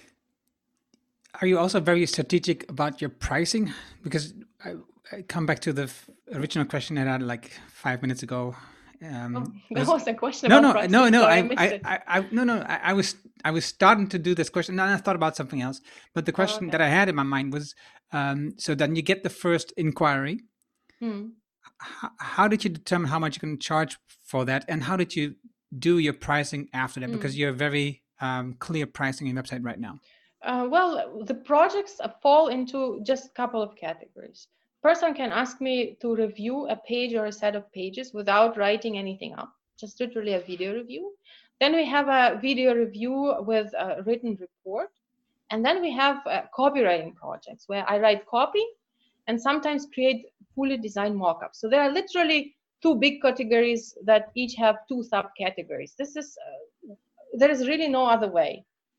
Are you also very strategic about your pricing? Because I, I come back to the f- original question that I had like five minutes ago. Um, oh, that was, was a question no, about no, pricing. no, no, Sorry, I, I, I, I, I, no, no, I, I was, I was starting to do this question, and I thought about something else. But the question oh, okay. that I had in my mind was, um, so then you get the first inquiry. Hmm. H- how did you determine how much you can charge for that, and how did you do your pricing after that? Hmm. Because you're very um, clear pricing in your website right now. Uh, well, the projects fall into just a couple of categories. Person can ask me to review a page or a set of pages without writing anything up, just literally a video review. Then we have a video review with a written report. And then we have uh, copywriting projects where I write copy and sometimes create fully designed mockups. So there are literally two big categories that each have two subcategories. This is, uh, there is really no other way.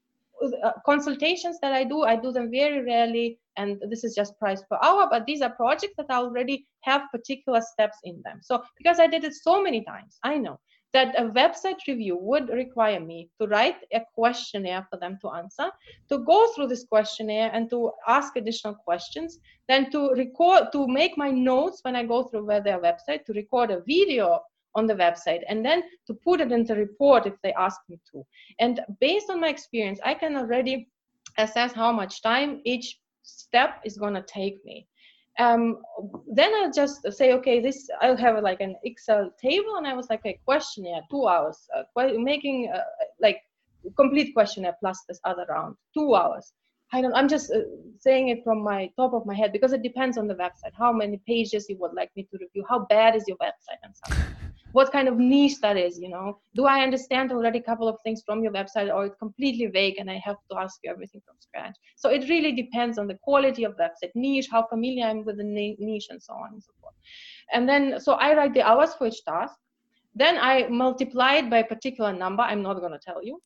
Uh, consultations that I do, I do them very rarely, and this is just price per hour, but these are projects that already have particular steps in them. So because I did it so many times, I know that a website review would require me to write a questionnaire for them to answer, to go through this questionnaire and to ask additional questions, then to record, to make my notes when I go through their website, to record a video on the website, and then to put it in the report if they ask me to. And based on my experience, I can already assess how much time each step is going to take me. Um, then I'll just say, okay, this, I'll have like an Excel table, and I was like, a questionnaire, two hours, uh, making uh, like complete questionnaire plus this other round, two hours. I don't, I'm just uh, saying it from my top of my head, because it depends on the website, how many pages you would like me to review, how bad is your website, and so on. What kind of niche that is, you know? Do I understand already a couple of things from your website, or it's completely vague and I have to ask you everything from scratch? So it really depends on the quality of the website, niche, how familiar I'm with the niche, and so on and so forth. And then, so I write the hours for each task. Then I multiply it by a particular number. I'm not going to tell you.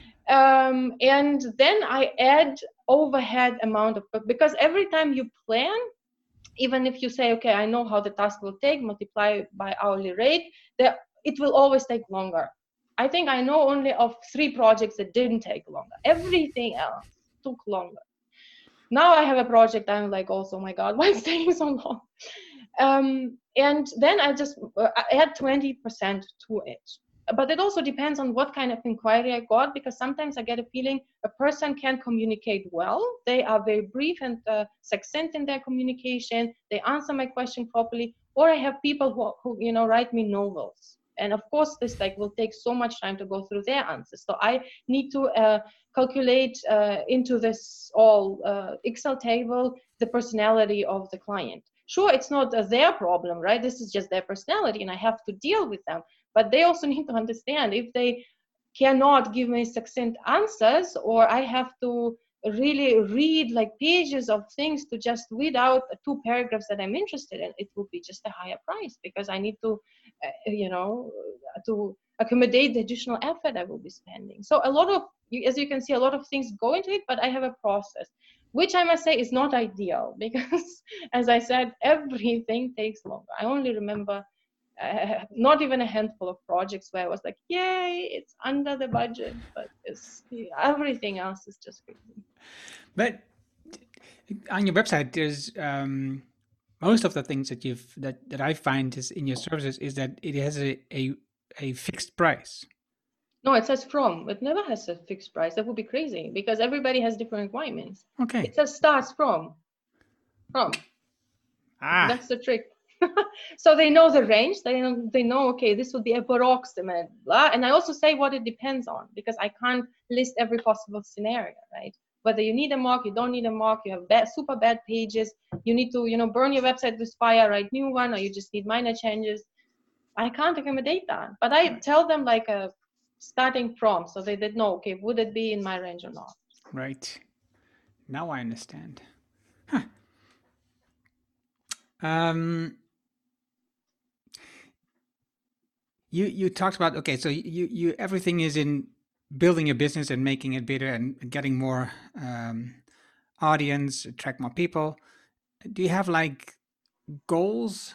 Um, and then I add overhead amount of, because every time you plan, even if you say, okay, I know how the task will take, multiply by hourly rate, there, it will always take longer. I think I know only of three projects that didn't take longer. Everything else took longer. Now I have a project, I'm like, also, oh my God, why is it taking so long? Um, and then I just uh, add twenty percent to it. But it also depends on what kind of inquiry I got, because sometimes I get a feeling a person can communicate well. They are very brief and uh, succinct in their communication. They answer my question properly. Or I have people who, who, you know, write me novels. And of course, this like will take so much time to go through their answers. So I need to uh, calculate uh, into this all uh, Excel table the personality of the client. Sure, it's not uh, their problem, right? This is just their personality, and I have to deal with them. But they also need to understand, if they cannot give me succinct answers, or I have to really read like pages of things to just weed out two paragraphs that I'm interested in, it will be just a higher price, because I need to, uh, you know, to accommodate the additional effort I will be spending. So a lot of, as you can see, a lot of things go into it, but I have a process, which I must say is not ideal, because as I said, everything takes longer. I only remember uh, not even a handful of projects where I was like, yay, it's under the budget, but it's, everything else is just crazy. But on your website, there's um, most of the things that you've that, that I find is in your services is that it has a, a a fixed price. No, it says from. It never has a fixed price. That would be crazy, because everybody has different requirements. Okay. It says starts from. From. Ah. That's the trick. So they know the range. They know, they know, okay, this would be approximate, blah. And I also say what it depends on, because I can't list every possible scenario, right? Whether you need a mock, you don't need a mock, you have bad, super bad pages, you need to, you know, burn your website with fire, write new one, or you just need minor changes. I can't accommodate that. But I tell them like a starting from, so they did know, okay, would it be in my range or not? Right. Now I understand. Huh. Um, you you talked about, okay, so you you everything is in building your business and making it better and getting more um, audience, attract more people. Do you have like goals?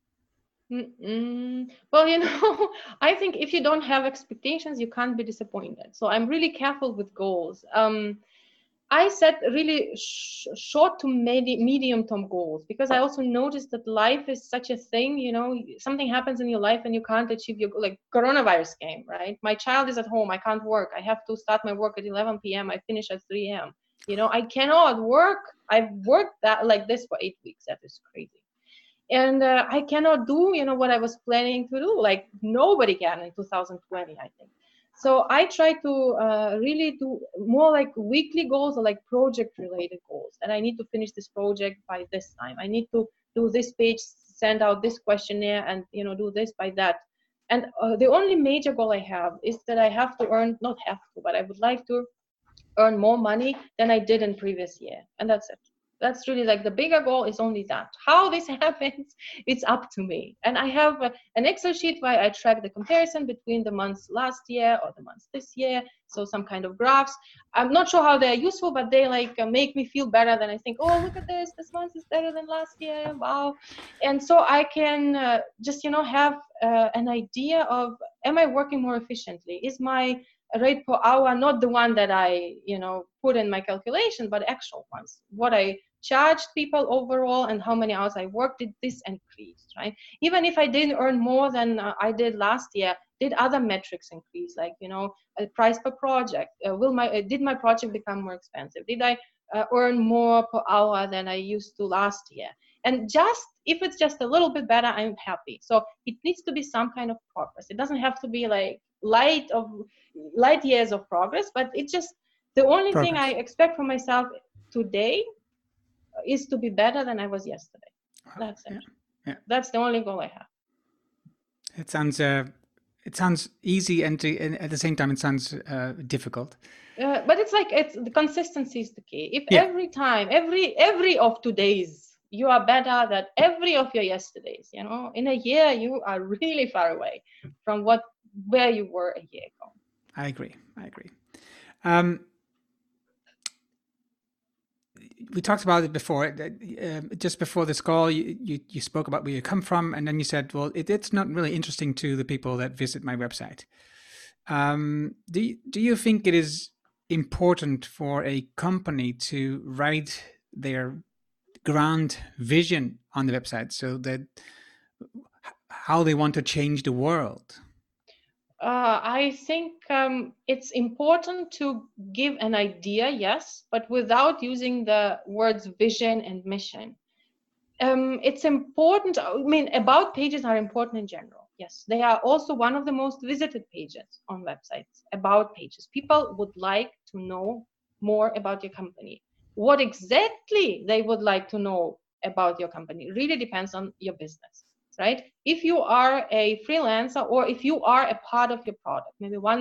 Mm-mm. Well, you know, I think if you don't have expectations, you can't be disappointed. So I'm really careful with goals. Um, I set really sh- short to medi- medium term goals, because I also noticed that life is such a thing, you know, something happens in your life and you can't achieve your, like coronavirus came, right? My child is at home. I can't work. I have to start my work at eleven p.m. I finish at three a.m. You know, I cannot work. I've worked that like this for eight weeks. That is crazy. And uh, I cannot do, you know, what I was planning to do. Like nobody can in two thousand twenty, I think. So I try to uh, really do more like weekly goals or like project related goals. And I need to finish this project by this time. I need to do this page, send out this questionnaire, and, you know, do this by that. And uh, the only major goal I have is that I have to earn, not have to, but I would like to earn more money than I did in previous year. And that's it. That's really like the bigger goal is only that. How this happens, it's up to me. And I have a, an Excel sheet where I track the comparison between the months last year or the months this year. So some kind of graphs. I'm not sure how they're useful, but they like uh, make me feel better than I think, oh, look at this. This month is better than last year. Wow. And so I can uh, just, you know, have uh, an idea of, am I working more efficiently? Is my rate per hour not the one that I, you know, put in my calculation, but actual ones? What I charged people overall and how many hours I worked, did this increase, right? Even if I didn't earn more than uh, I did last year, did other metrics increase? Like, you know, a price per project. Uh, will my uh, did my project become more expensive? Did I uh, earn more per hour than I used to last year? And just if it's just a little bit better, I'm happy. So it needs to be some kind of progress. It doesn't have to be like light of light years of progress, but it's just the only progress. Thing I expect from myself today is to be better than I was yesterday. That's it. Yeah. Yeah. That's the only goal I have. It sounds uh, it sounds easy, and, to, and at the same time it sounds uh, difficult. Uh, but it's like it's the consistency is the key. If yeah. every time, every every of today's you are better than every of your yesterdays, you know, in a year you are really far away from what where you were a year ago. I agree. I agree. Um, we talked about it before. Uh, just before this call, you, you you spoke about where you come from, and then you said, "Well, it, it's not really interesting to the people that visit my website." Um, do you, do you think it is important for a company to write their grand vision on the website, so that how they want to change the world? Uh, I think um, it's important to give an idea, yes, but without using the words vision and mission. Um, it's important, I mean, about pages are important in general. Yes, they are also one of the most visited pages on websites, about pages. People would like to know more about your company. What exactly they would like to know about your company really depends on your business. Right? If you are a freelancer or if you are a part of your product, maybe one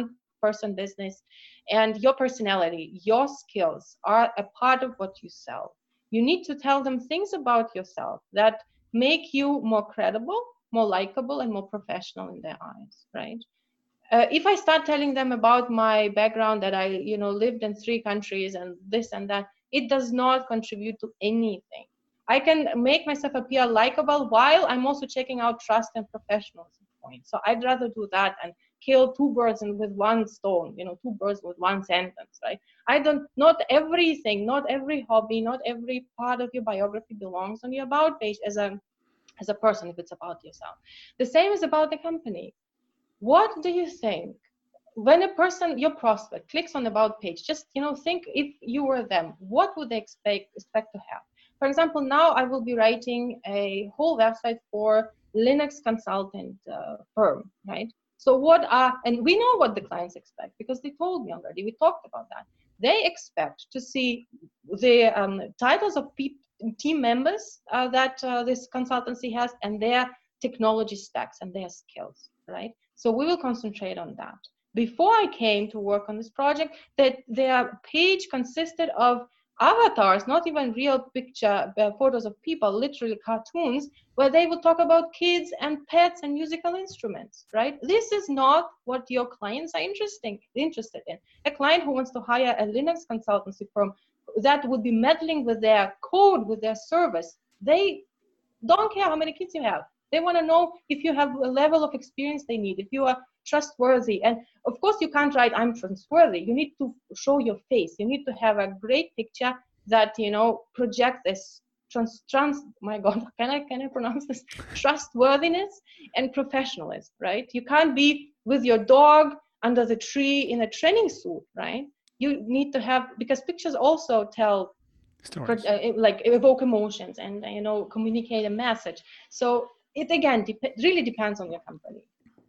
person business, and your personality, your skills are a part of what you sell. You need to tell them things about yourself that make you more credible, more likable, and more professional in their eyes, right? Uh, if I start telling them about my background, that I, you know, lived in three countries and this and that, it does not contribute to anything. I can make myself appear likable while I'm also checking out trust and professionalism points. So I'd rather do that and kill two birds with one stone, you know, two birds with one sentence, right? I don't, not everything, not every hobby, not every part of your biography belongs on your about page as a, as a person, if it's about yourself. The same is about the company. What do you think? When a person, your prospect, clicks on the about page, just, you know, think if you were them, what would they expect expect to have? For example, now I will be writing a whole website for Linux consultant uh, firm, right? So what are, and we know what the clients expect because they told me already, we talked about that. They expect to see the um, titles of pe- team members uh, that uh, this consultancy has and their technology stacks and their skills, right? So we will concentrate on that. Before I came to work on this project, that their page consisted of avatars, not even real picture uh, photos of people, literally cartoons, where they would talk about kids and pets and musical instruments, right? This is not what your clients are interesting, interested in. A client who wants to hire a Linux consultancy firm that would be meddling with their code, with their service, they don't care how many kids you have. They want to know if you have a level of experience they need, if you are trustworthy. And of course, you can't write, I'm trustworthy. You need to show your face. You need to have a great picture that, you know, projects this trans, trans my God, can I, can I pronounce this? Trustworthiness and professionalism, right? You can't be with your dog under the tree in a training suit, right? You need to have, because pictures also tell stories, uh, like evoke emotions and, you know, communicate a message. So it again dep- really depends on your company.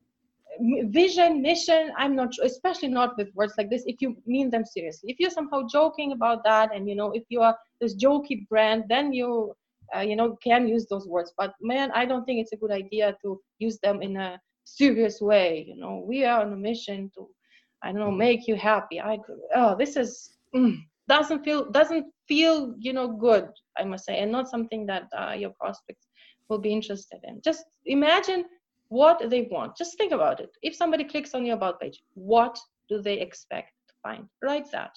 Vision, mission, I'm not sure, especially not with words like this, if you mean them seriously. If you're somehow joking about that and, you know, if you are this jokey brand, then you, uh, you know, can use those words. But man, I don't think it's a good idea to use them in a serious way. You know, we are on a mission to, I don't know, make you happy. I, oh, this is, mm, doesn't feel, doesn't feel, you know, good, I must say, and not something that uh, your prospects will be interested in. Just imagine what they want. Just think about it. If somebody clicks on your about page, what do they expect to find? Write that.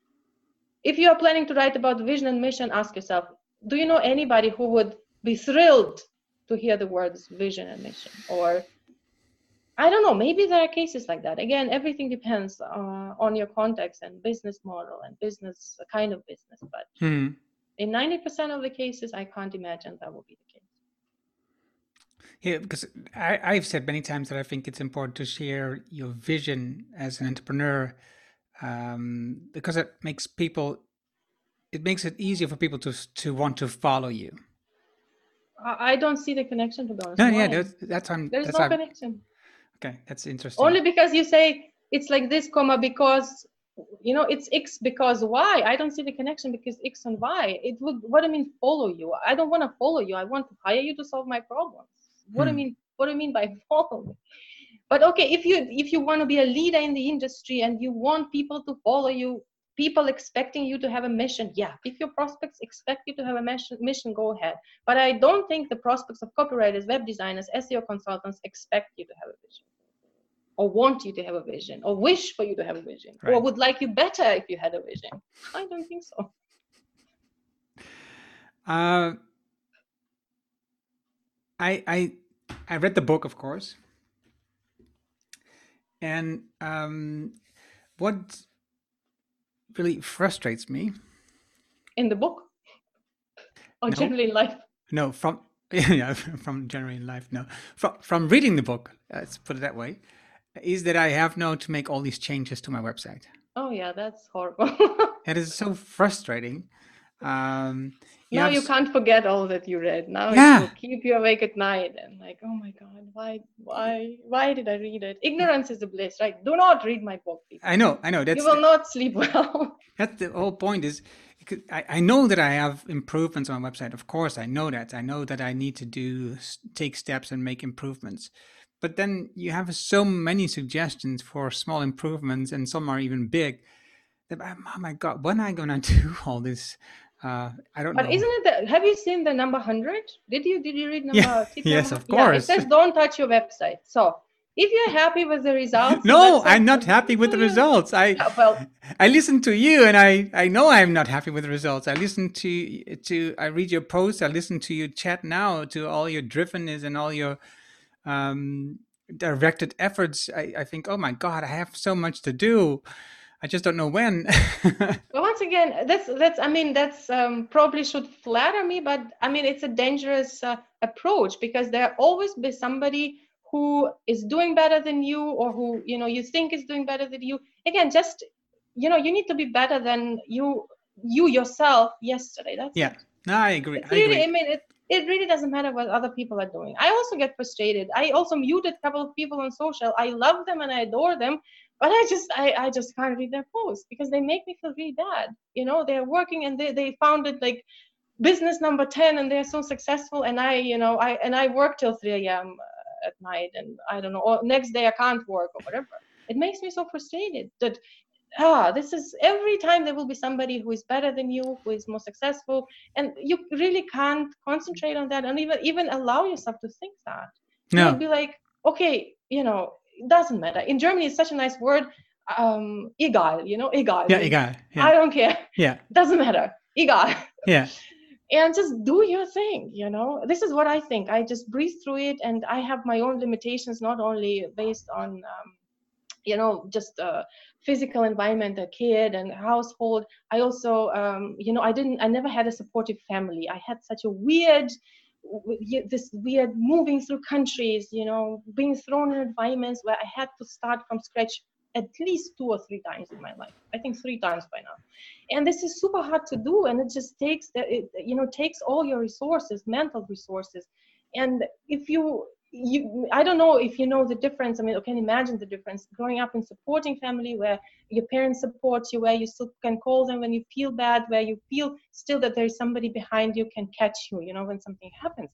If you are planning to write about vision and mission, ask yourself, do you know anybody who would be thrilled to hear the words vision and mission? Or I don't know, maybe there are cases like that. Again, everything depends uh, on your context and business model and business kind of business. But hmm. in ninety percent of the cases, I can't imagine that will be the case. Yeah, because I, I've said many times that I think it's important to share your vision as an entrepreneur, um, because it makes people, it makes it easier for people to to want to follow you. I don't see the connection, to be honest. No, yeah, that's, that's I'm, There's that's no I'm, connection. Okay, that's interesting. Only because you say it's like this, comma, because, you know, it's X because Y. I don't see the connection because X and Y. It would, what do I mean follow you? I don't want to follow you. I want to hire you to solve my problems. What hmm. do I mean? What do I mean by follow? But okay, if you if you want to be a leader in the industry and you want people to follow you, people expecting you to have a mission, yeah. If your prospects expect you to have a mission, mission, go ahead. But I don't think the prospects of copywriters, web designers, S E O consultants expect you to have a vision, or want you to have a vision, or wish for you to have a vision, right, or would like you better if you had a vision. I don't think so. Uh, I I I read the book, of course, and um, what really frustrates me in the book, or no, generally in life. No, from yeah, from generally in life. No, from from reading the book. Let's put it that way. Is that I have now to make all these changes to my website. Oh yeah, that's horrible. It is so frustrating. Um, you now you can't forget all that you read. Now yeah. it will keep you awake at night and like, oh my God, why, why, why did I read it? Ignorance is a bliss, right? Do not read my book, people. I know, I know. That's you will the, not sleep well. That's the whole point. Is I, I know that I have improvements on my website. Of course, I know that. I know that I need to do take steps and make improvements. but then you have so many suggestions for small improvements, and some are even big. That, oh my God, when am I gonna do all this? Uh, I don't but know. But isn't it? The, have you seen the number hundred? Did you did you read number? Yeah. Tip Yes, number, of course. Yeah, it says don't touch your website. So if you're happy with the results, no, I'm not happy with the results. I yeah, well, I listen to you, and I, I know I'm not happy with the results. I listen to to I read your posts. I listen to your chat now, to all your drivenness and all your um, directed efforts. I, I think, oh my God, I have so much to do. I just don't know when. Well, once again, that's that's. I mean, that's um, probably should flatter me, but I mean, it's a dangerous uh, approach, because there always be somebody who is doing better than you, or who you know you think is doing better than you. Again, just you know, you need to be better than you you yourself yesterday. That's yeah. it. No, I agree. It's I really, agree. I mean, it, it really doesn't matter what other people are doing. I also get frustrated. I also muted a couple of people on social. I love them and I adore them, but I just, I, I just can't read their posts because they make me feel really bad. You know, they're working and they, they founded like business number ten and they're so successful. And I, you know, I, and I work till three a.m. at night, and I don't know, or next day I can't work or whatever. It makes me so frustrated that ah, this is every time there will be somebody who is better than you, who is more successful, and you really can't concentrate on that and even even allow yourself to think that. No. You would be like, okay, you know, it doesn't matter. In Germany, it's such a nice word, um, egal, you know, egal. Yeah, egal. Yeah. I don't care. Yeah. Doesn't matter. Egal. Yeah. And just do your thing, you know. This is what I think. I just breathe through it, and I have my own limitations, not only based on um, you know, just uh, physical environment, a kid and household. I also, um, you know, I didn't, I never had a supportive family. I had such a weird, this weird moving through countries, you know, being thrown in environments where I had to start from scratch at least two or three times in my life. I think three times by now. And this is super hard to do. And it just takes, it, you know, takes all your resources, mental resources. And if you, You, I don't know if you know the difference. I mean, I can imagine the difference growing up in supporting family where your parents support you, where you still can call them when you feel bad, where you feel still that there is somebody behind you can catch you, you know, when something happens.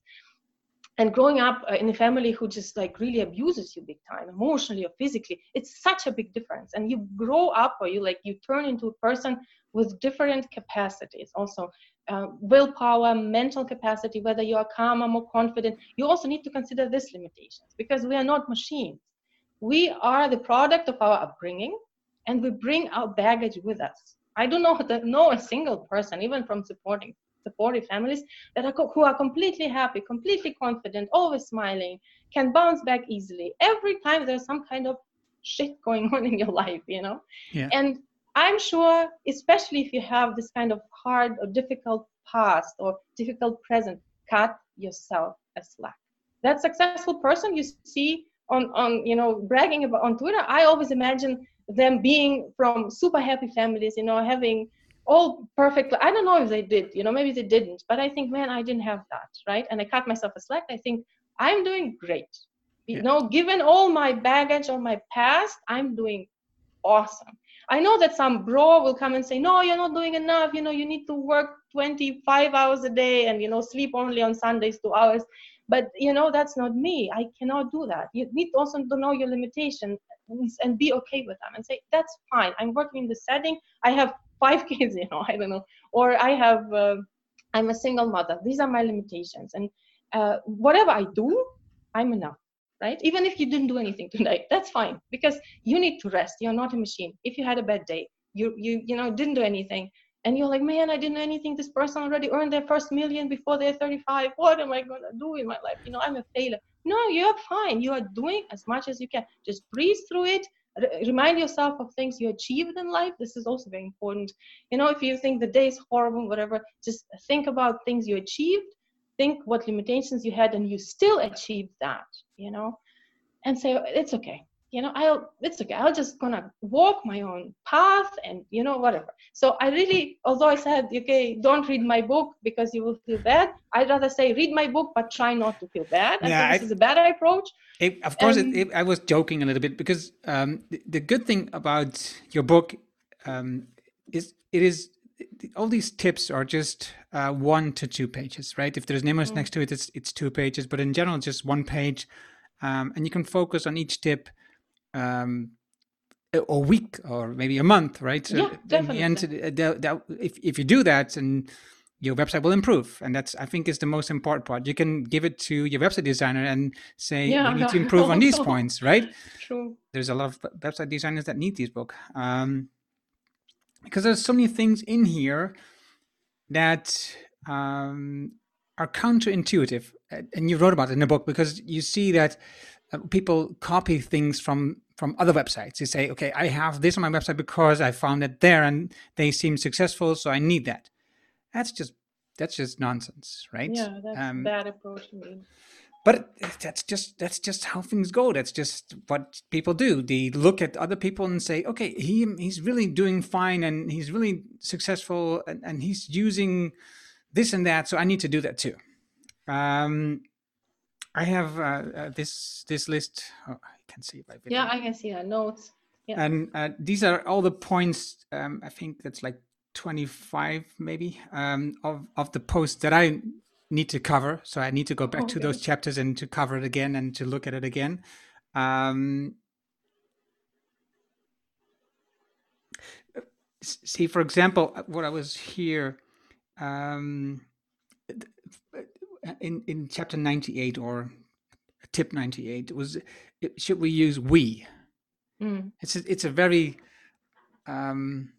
And growing up in a family who just like really abuses you big time, emotionally or physically, it's such a big difference. And you grow up, or you like, you turn into a person with different capacities, also uh, willpower, mental capacity, whether you are calmer, more confident. You also need to consider these limitations, because we are not machines. We are the product of our upbringing, and we bring our baggage with us. I don't know that know a single person, even from supporting supportive families, that are who are completely happy, completely confident, always smiling, can bounce back easily every time there's some kind of shit going on in your life, you know. Yeah. And I'm sure, especially if you have this kind of hard or difficult past or difficult present, cut yourself a slack. That successful person you see on, on you know, bragging about on Twitter, I always imagine them being from super happy families, you know, having all perfect. I don't know if they did, you know, maybe they didn't, but I think, man, I didn't have that, right? And I cut myself a slack. I think I'm doing great. You yeah. know, given all my baggage of my past, I'm doing awesome. I know that some bro will come and say, no, you're not doing enough. You know, you need to work twenty-five hours a day and, you know, sleep only on Sundays, two hours. But, you know, that's not me. I cannot do that. You need also to know your limitations and be okay with them and say, that's fine. I'm working in this setting. I have five kids, you know, I don't know. Or I have, uh, I'm a single mother. These are my limitations. And uh, whatever I do, I'm enough. Right? Even if you didn't do anything today, that's fine, because you need to rest. You're not a machine. If you had a bad day, you you you know didn't do anything, and you're like, man, I didn't do anything. This person already earned their first million before they're thirty-five. What am I gonna do in my life? You know, I'm a failure. No, you're fine. You are doing as much as you can. Just breathe through it. R- remind yourself of things you achieved in life. This is also very important. You know, if you think the day is horrible, whatever, just think about things you achieved. Think what limitations you had, and you still achieved that, you know, and say, it's okay. You know, I'll, it's okay. I'll just gonna walk my own path and, you know, whatever. So I really, although I said, okay, don't read my book because you will feel bad, I'd rather say read my book, but try not to feel bad. I yeah, think this I, is a better approach. It, of course, um, it, it, I was joking a little bit, because um, the, the good thing about your book um, is it is all these tips are just uh, one to two pages, right? If there's numbers mm. next to it, it's it's two pages, but in general, just one page. um, and you can focus on each tip um, a, a week or maybe a month, right? So Yeah, in the end, definitely. uh, the- the- if if you do that, and your website will improve, and that's, I think, is the most important part. You can give it to your website designer and say, Yeah, we need to I improve on these also. points, right? True. There's a lot of website designers that need this book, um, because there's so many things in here that um, are counterintuitive, and you wrote about it in the book, because you see that uh, people copy things from from other websites. They say, okay, I have this on my website because I found it there and they seem successful, so I need that. That's just that's just nonsense, right? Yeah, that's Um, bad approach to me. but that's just that's just how things go. That's just what people do. They look at other people and say, okay, he he's really doing fine and he's really successful and, and he's using this and that, so I need to do that too. Um, I have uh, uh, this this list. Oh, I can see it by video. Yeah, I can see that notes. Yeah. And uh, these are all the points. Um, I think that's like twenty-five, maybe, um, of of the posts that I need to cover. So I need to go back Okay. to those chapters and to cover it again and to look at it again. Um, see, for example, what I was here. Um, in in chapter ninety-eight, or tip ninety-eight, was, should we use we? Mm. It's a, it's a very um,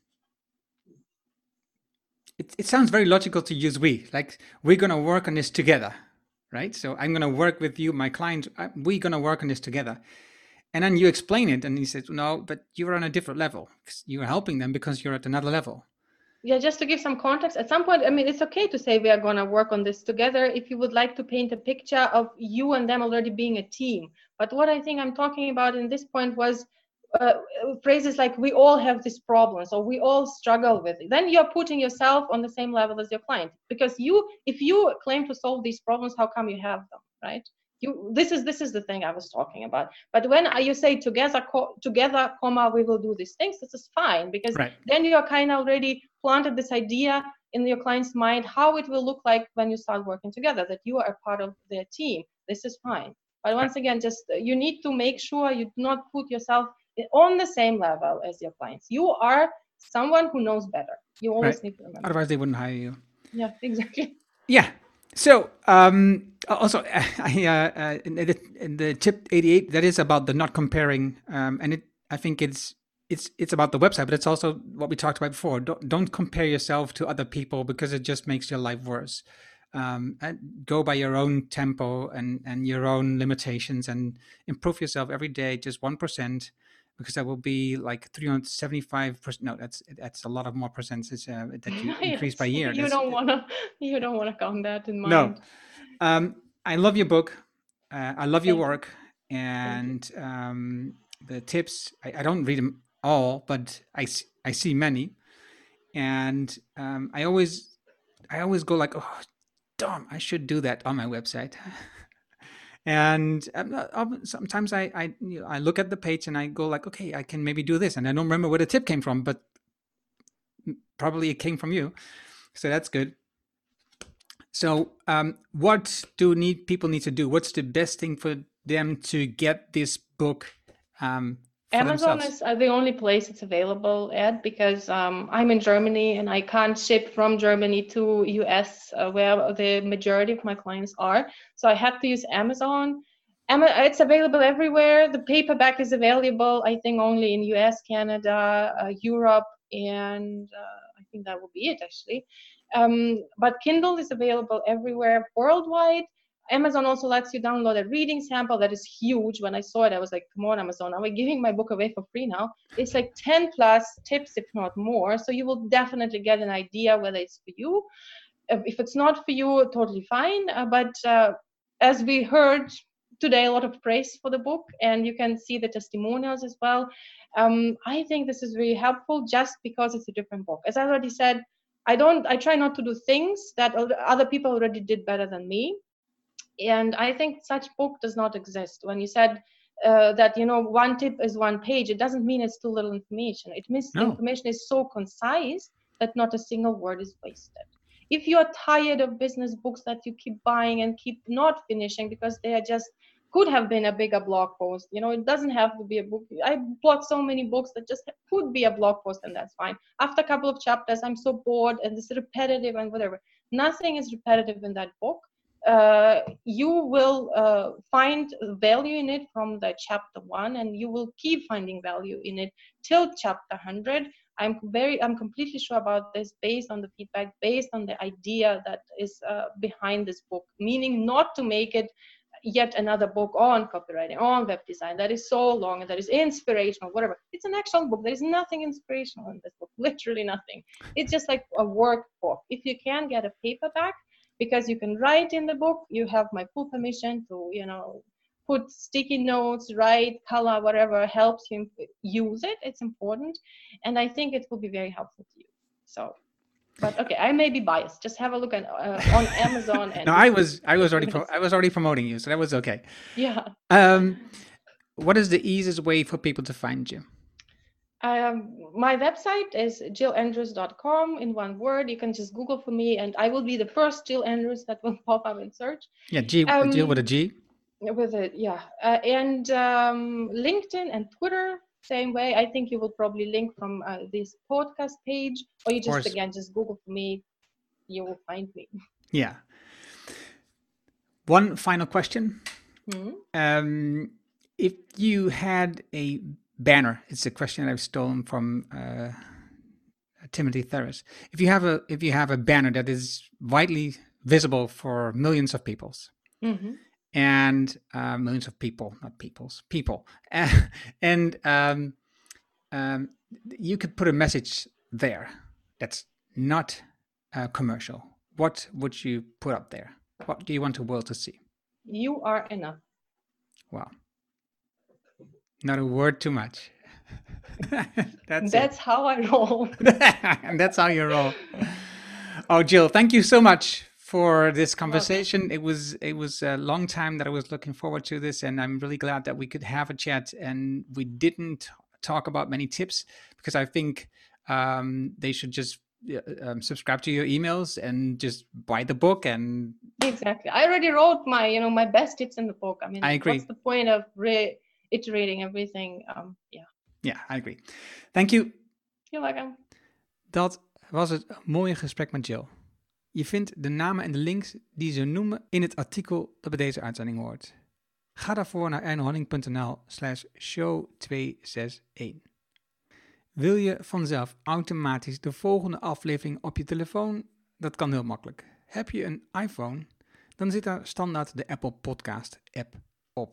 it it sounds very logical to use we, like we're gonna work on this together, right? So I'm gonna work with you, my client. I, we're gonna work on this together, and then you explain it, and he says, no, but you're on a different level. You're helping them because you're at another level. Yeah, just to give some context, at some point, I mean, it's okay to say we are going to work on this together if you would like to paint a picture of you and them already being a team. But what I think I'm talking about in this point was uh, phrases like, we all have these problems, or we all struggle with it. Then you're putting yourself on the same level as your client, because you, if you claim to solve these problems, how come you have them, right? You, this is this is the thing I was talking about. But when you say together, co- together, comma, we will do these things, this is fine, because Right. then you're kind of already planted this idea in your client's mind how it will look like when you start working together, that you are a part of their team. This is fine. But once again, just uh, you need to make sure you do not put yourself on the same level as your clients. You are someone who knows better. You always Right. need to remember. Otherwise, they wouldn't hire you. Yeah, exactly. Yeah. So um, also, I, uh, uh, in, the, in the tip eighty-eight, that is about the not comparing, um, and it. I think it's it's it's about the website, but it's also what we talked about before. Don't don't compare yourself to other people, because it just makes your life worse. Um, and go by your own tempo and and your own limitations, and improve yourself every day, just one percent. Because that will be like three hundred seventy-five percent. No, that's that's a lot of more percentage uh, that you increase by year. You That's, don't want to. You don't want to count that in mind. No, um, I love your book. Uh, I love your Thank you. work, and um, the tips. I, I don't read them all, but I s- I see many, and um, I always I always go like, oh, damn, I should do that on my website. And um, uh, um, sometimes I I, you know, I look at the page and I go like, okay, I can maybe do this, and I don't remember where the tip came from, but probably it came from you, so that's good. So, um, what do need people need to do? What's the best thing for them to get this book? Um, for Amazon themselves? is uh, the only place it's available at, because um, I'm in Germany and I can't ship from Germany to U S, uh, where the majority of my clients are. So I had to use Amazon. Ama- It's available everywhere. The paperback is available, I think, only in U S, Canada, uh, Europe, and uh, I think that will be it, actually. Um, but Kindle is available everywhere worldwide. Amazon also lets you download a reading sample that is huge. When I saw it, I was like, come on, Amazon, are we giving my book away for free now? It's like ten plus tips, if not more. So you will definitely get an idea whether it's for you. If it's not for you, totally fine. Uh, but uh, as we heard today, a lot of praise for the book, and you can see the testimonials as well. Um, I think this is very helpful just because it's a different book. As I already said, I don't, I try not to do things that other people already did better than me. And I think such book does not exist. When you said uh, that, you know, one tip is one page, it doesn't mean it's too little information. It means No. the information is so concise that not a single word is wasted. If you're tired of business books that you keep buying and keep not finishing because they are just could have been a bigger blog post. You know, it doesn't have to be a book. I bought so many books that just could be a blog post, and that's fine. After a couple of chapters, I'm so bored and it's repetitive and whatever. Nothing is repetitive in that book. Uh, you will uh, find value in it from the chapter one, and you will keep finding value in it till chapter one hundred. I'm very, I'm completely sure about this based on the feedback, based on the idea that is uh, behind this book, meaning not to make it yet another book on copywriting, on web design that is so long and that is inspirational, whatever. It's an actual book. There is nothing inspirational in this book, literally nothing. It's just like a workbook. If you can get a paperback, because you can write in the book, you have my full permission to, you know, put sticky notes, write, color, whatever helps you use it. It's important. And I think it will be very helpful to you. So, but okay, I may be biased. Just have a look at uh, on Amazon. And no, I was I was already pro- I was already promoting you, so that was okay. Yeah. Um, what is the easiest way for people to find you? Um, my website is jill andrews dot com in one word. You can just Google for me, and I will be the first Jill Andrews that will pop up in search. Yeah, G, um, Jill with a G. With it, yeah. Uh, and um, LinkedIn and Twitter, same way. I think you will probably link from uh, this podcast page, or you just, again, just Google for me. You will find me. Yeah. One final question. Mm-hmm. Um, if you had a banner, it's a question that I've stolen from uh, Timothy Ferris. If you have a if you have a banner that is widely visible for millions of peoples, mm-hmm. and uh, millions of people, not peoples, people, and um, um, you could put a message there that's not uh, commercial. What would you put up there? What do you want the world to see? You are enough. Wow. Not a word too much. that's that's it. how I roll. And that's how you roll. Oh, Jill, thank you so much for this conversation. Okay. It was it was a long time that I was looking forward to this, and I'm really glad that we could have a chat. And we didn't talk about many tips because I think um, they should just um, subscribe to your emails and just buy the book. And exactly, I already wrote my you know my best tips in the book. I mean, I agree. What's the point of re- iterating everything? Um, yeah. Ja, I agree. Thank you. You're welcome. Dat was het mooie gesprek met Jill. Je vindt de namen en de links die ze noemen in het artikel dat bij deze uitzending hoort. Ga daarvoor naar ernohanning.nl slash show tweehonderdzesenzestig. Wil je vanzelf automatisch de volgende aflevering op je telefoon? Dat kan heel makkelijk. Heb je een iPhone? Dan zit daar standaard de Apple Podcast app op.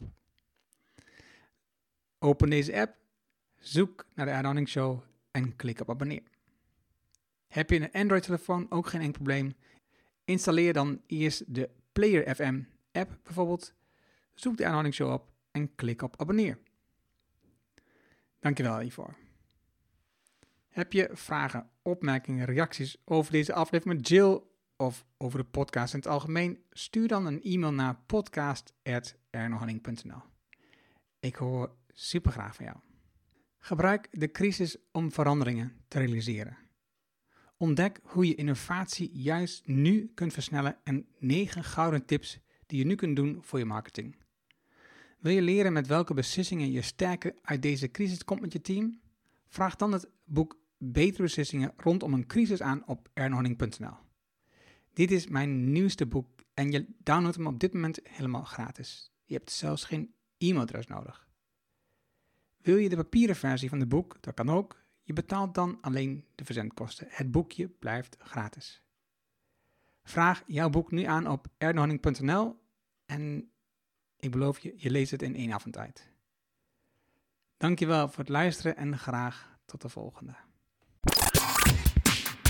Open deze app, zoek naar de Ernohanning Show en klik op abonneer. Heb je een Android-telefoon? Ook geen enkel probleem. Installeer dan eerst de Player F M app bijvoorbeeld. Zoek de Ernohanning Show op en klik op abonneer. Dankjewel hiervoor. Heb je vragen, opmerkingen, reacties over deze aflevering met Jill of over de podcast in het algemeen? Stuur dan een e-mail naar podcast at ernohanning punt n l. Ik hoor super graag van jou. Gebruik de crisis om veranderingen te realiseren. Ontdek hoe je innovatie juist nu kunt versnellen en negen gouden tips die je nu kunt doen voor je marketing. Wil je leren met welke beslissingen je sterker uit deze crisis komt met je team? Vraag dan het boek Betere Beslissingen rondom een crisis aan op ernohanning punt n l. Dit is mijn nieuwste boek en je downloadt hem op dit moment helemaal gratis. Je hebt zelfs geen e-mailadres nodig. Wil je de papieren versie van het boek? Dat kan ook. Je betaalt dan alleen de verzendkosten. Het boekje blijft gratis. Vraag jouw boek nu aan op ernohanning punt n l en ik beloof je, je leest het in één avond uit. Dankjewel voor het luisteren en graag tot de volgende.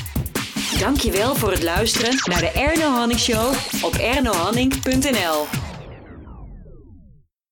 Dankjewel voor het luisteren naar de Ernohanning Show op ernohanning punt n l.